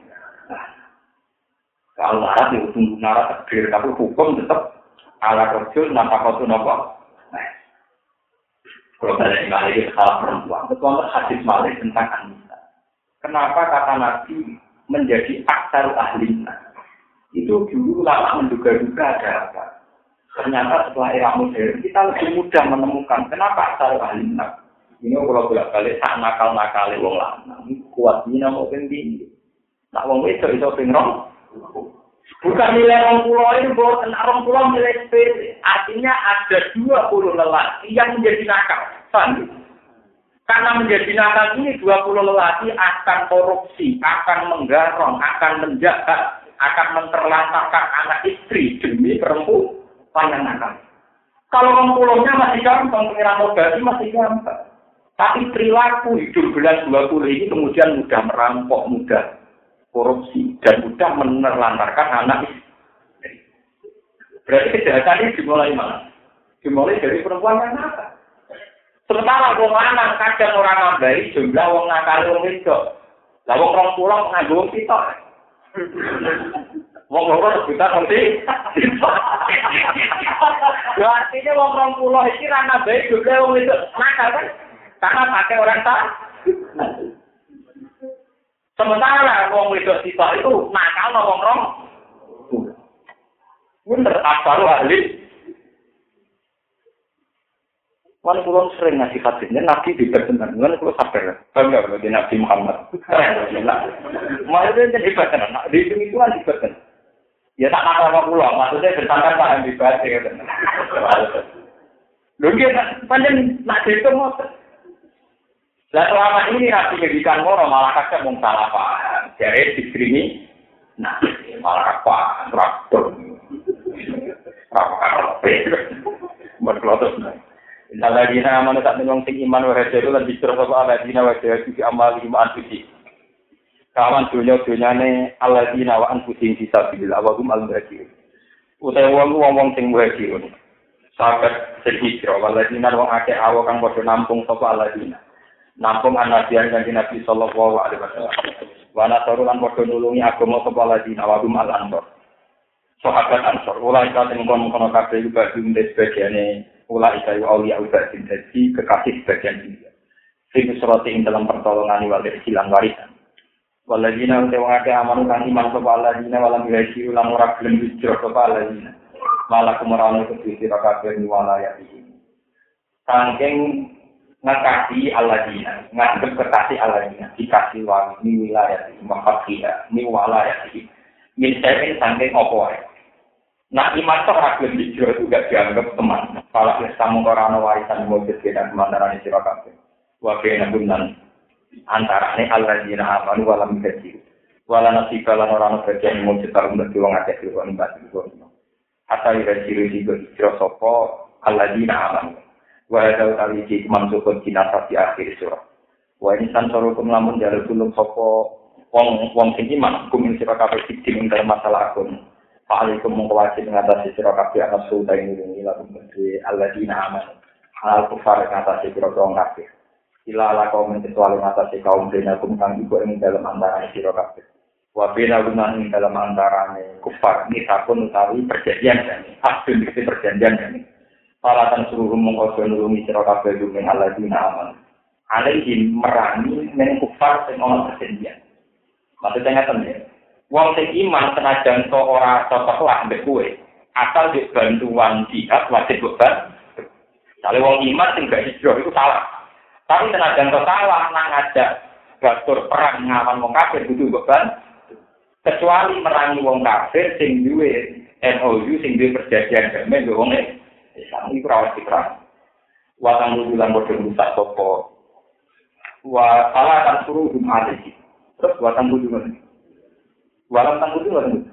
Kalau marat itu tunggu marat takdir, tapi hukum tetap ala kerja nampak waktu nopo. Kalau saya ingat lagi salah perempuan, betul hadis Malik tentang Anisa. Kenapa kata Nabi menjadi aksar ahlinya? Itu dulu lama menduga-duga ada apa? Ternyata setelah era modern kita lebih mudah menemukan kenapa asal ahlinak. Ini kalau bolak-balik tak nakal-nakal wong lanang kuatnya mau tinggi. Nak wong itu pingrong. Bukan nilai orang pulau ini buat orang pulau nilai sepele. Artinya ada 20 lelaki yang menjadi nakal. Paham? Karena menjadi nakal ini 20 lelaki akan korupsi, akan menggarong, akan menjahat, akan menterlantarkan anak istri demi perempuan. Panjang nakal. Kalau orang pulaunya masih gampang, pengiran obati masih gampang. Tapi perilaku hidup bulan 20 ini kemudian mudah merampok, mudah korupsi, dan mudah menelantarkan anak istri. Berarti kejahatan ini dimulai mana? Dimulai dari perempuan yang nakal. Sementara orang lanang kadang orang nambahi jumlah orang nakal orang itu. Lah orang pulau nganggo wong sitok. Wong loro rebutan nanti. Ya artinya wong 20 iki ra nambahi jumlah wong itu nakal kan? Karena pakai orang tak. Sementara wong wedok sitok itu nakal wong rong. Bener asal ahli. Wan kula sering ngasih hadisnya Nabi dibertenan, kan kula sabar. Bangga bagi Nabi Muhammad. Maksudnya hebat kan, di itu kan hebat kan. Ya tak apa kula, maksudnya bertangkat paham hebat ya kan. Lho nggih panjen nak itu ngoten. Lah selama ini Nabi ngedikan ngono malah kakek mung salah paham. Jare dikrimi. Nah, malah apa? Traktor. Apa? Berkelotos. Alladzina amanu tak menyong sing iman wa hajaru lan dikira sapa alladzina wa hajaru fi amalihim anfusi. Kawan dunya-dunyane alladzina wa anfusihim fisabilillah wa hum al-muhajirin. Utawa wong sing muhajirun. Sahabat sehijrah alladzina wong akeh awo kang padha nampung sapa alladzina. Nampung anabiyan kanjeng Nabi sallallahu alaihi wasallam. Wa nasaru lan padha nulungi agama sapa alladzina wa hum al-ansar. Sahabat Ansar, ulai katen kono kabeh juga dhewe sebagiane ulai kayu aulia ubadin jadi kekasih sebagian dia. Sing surati ing dalam pertolongan wal silang warisan. Waladina tewake amanu kang iman sapa alladzina walam yasiru lan ora gelem hijrah sapa alladzina. Malah kemerane kedhi kabeh ni walaya iki. Saking ngakasi alladzina, ngadep kekasih alladzina, dikasih wangi wilayah iki mafakia, ni walaya iki. Misalnya saking opo wae. Nah, iman itu ragam hijrah itu gak dianggap teman. Kalau kamu orang warisan mujud dan kemandaran sira kabeh. Wa baina bunnan antarane alladzina amanu wa lam yasiru. Wala nasibah lan ora ana bagian mung setar untuk wong akeh kok nimbas iku. Asal ira ciri hijrah sapa alladzina amanu. Wa hadza tali iki mansukun kinasa di akhir surah. Wa insan sarukum lamun jalur tulung sapa wong sing iman kumin sira kabeh ing dalam masalah akun. Fa'alaikum mengwajib ngatasi sira kabeh ana sulta ing ngene lakum menteri alladzina amanu. Hal kufar ngatasi sira kabeh. Ila ala kaum kecuali ngatasi kaum dinakum kang iku ing dalam antara sira kabeh. Wabila gunain dalam antaranya kufar ini takun utawi perjanjian kan hasil dari perjanjian kan palatan suruh mengkodoh nulungi sirakabe dumen aladina aman alaihim merangi men kufar sing ono perjanjian maksudnya ngeten ya wong sing iman senajan to ora cocok lah mbek kowe asal di bantuan jihad wajib beban jale wong iman sing gak hijrah itu salah tapi senajan to salah nang ngajak batur perang ngawan wong kafir kudu beban kecuali merangi wong kafir sing duwe MOU sing duwe perjanjian damai mbek wong Islam iki ora diperang. Wa kang bulan bodho rusak sapa. Wa ala kan suruh dumati. Terus wa kang bulan. Walam kang bulan.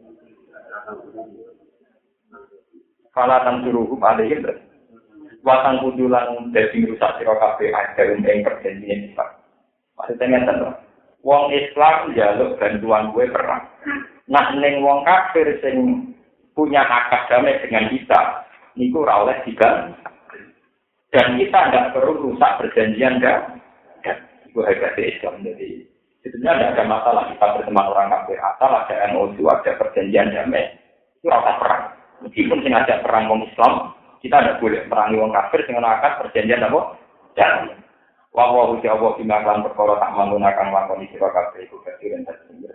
Kala kang suruh dumati terus. Wa kang bulan dadi rusak sira kabeh ajar ing perjanjian Islam. Maksudnya ngeten wong Islam njaluk bantuan gue perang. Nah ning wong kafir sing punya akad damai dengan kita, niku ora oleh digan. Dan kita tidak perlu rusak perjanjian dan itu hebat Islam. Jadi sebenarnya tidak ada masalah kita berteman orang kafir asal ada MOU, ada perjanjian damai. Itu rasa perang. Meskipun sing ada perang wong Islam, kita tidak boleh merangi wong kafir sing ana akad perjanjian apa? Dan wa wa Allah bima kan perkara tak menggunakan lakon sira kabeh iku kasiren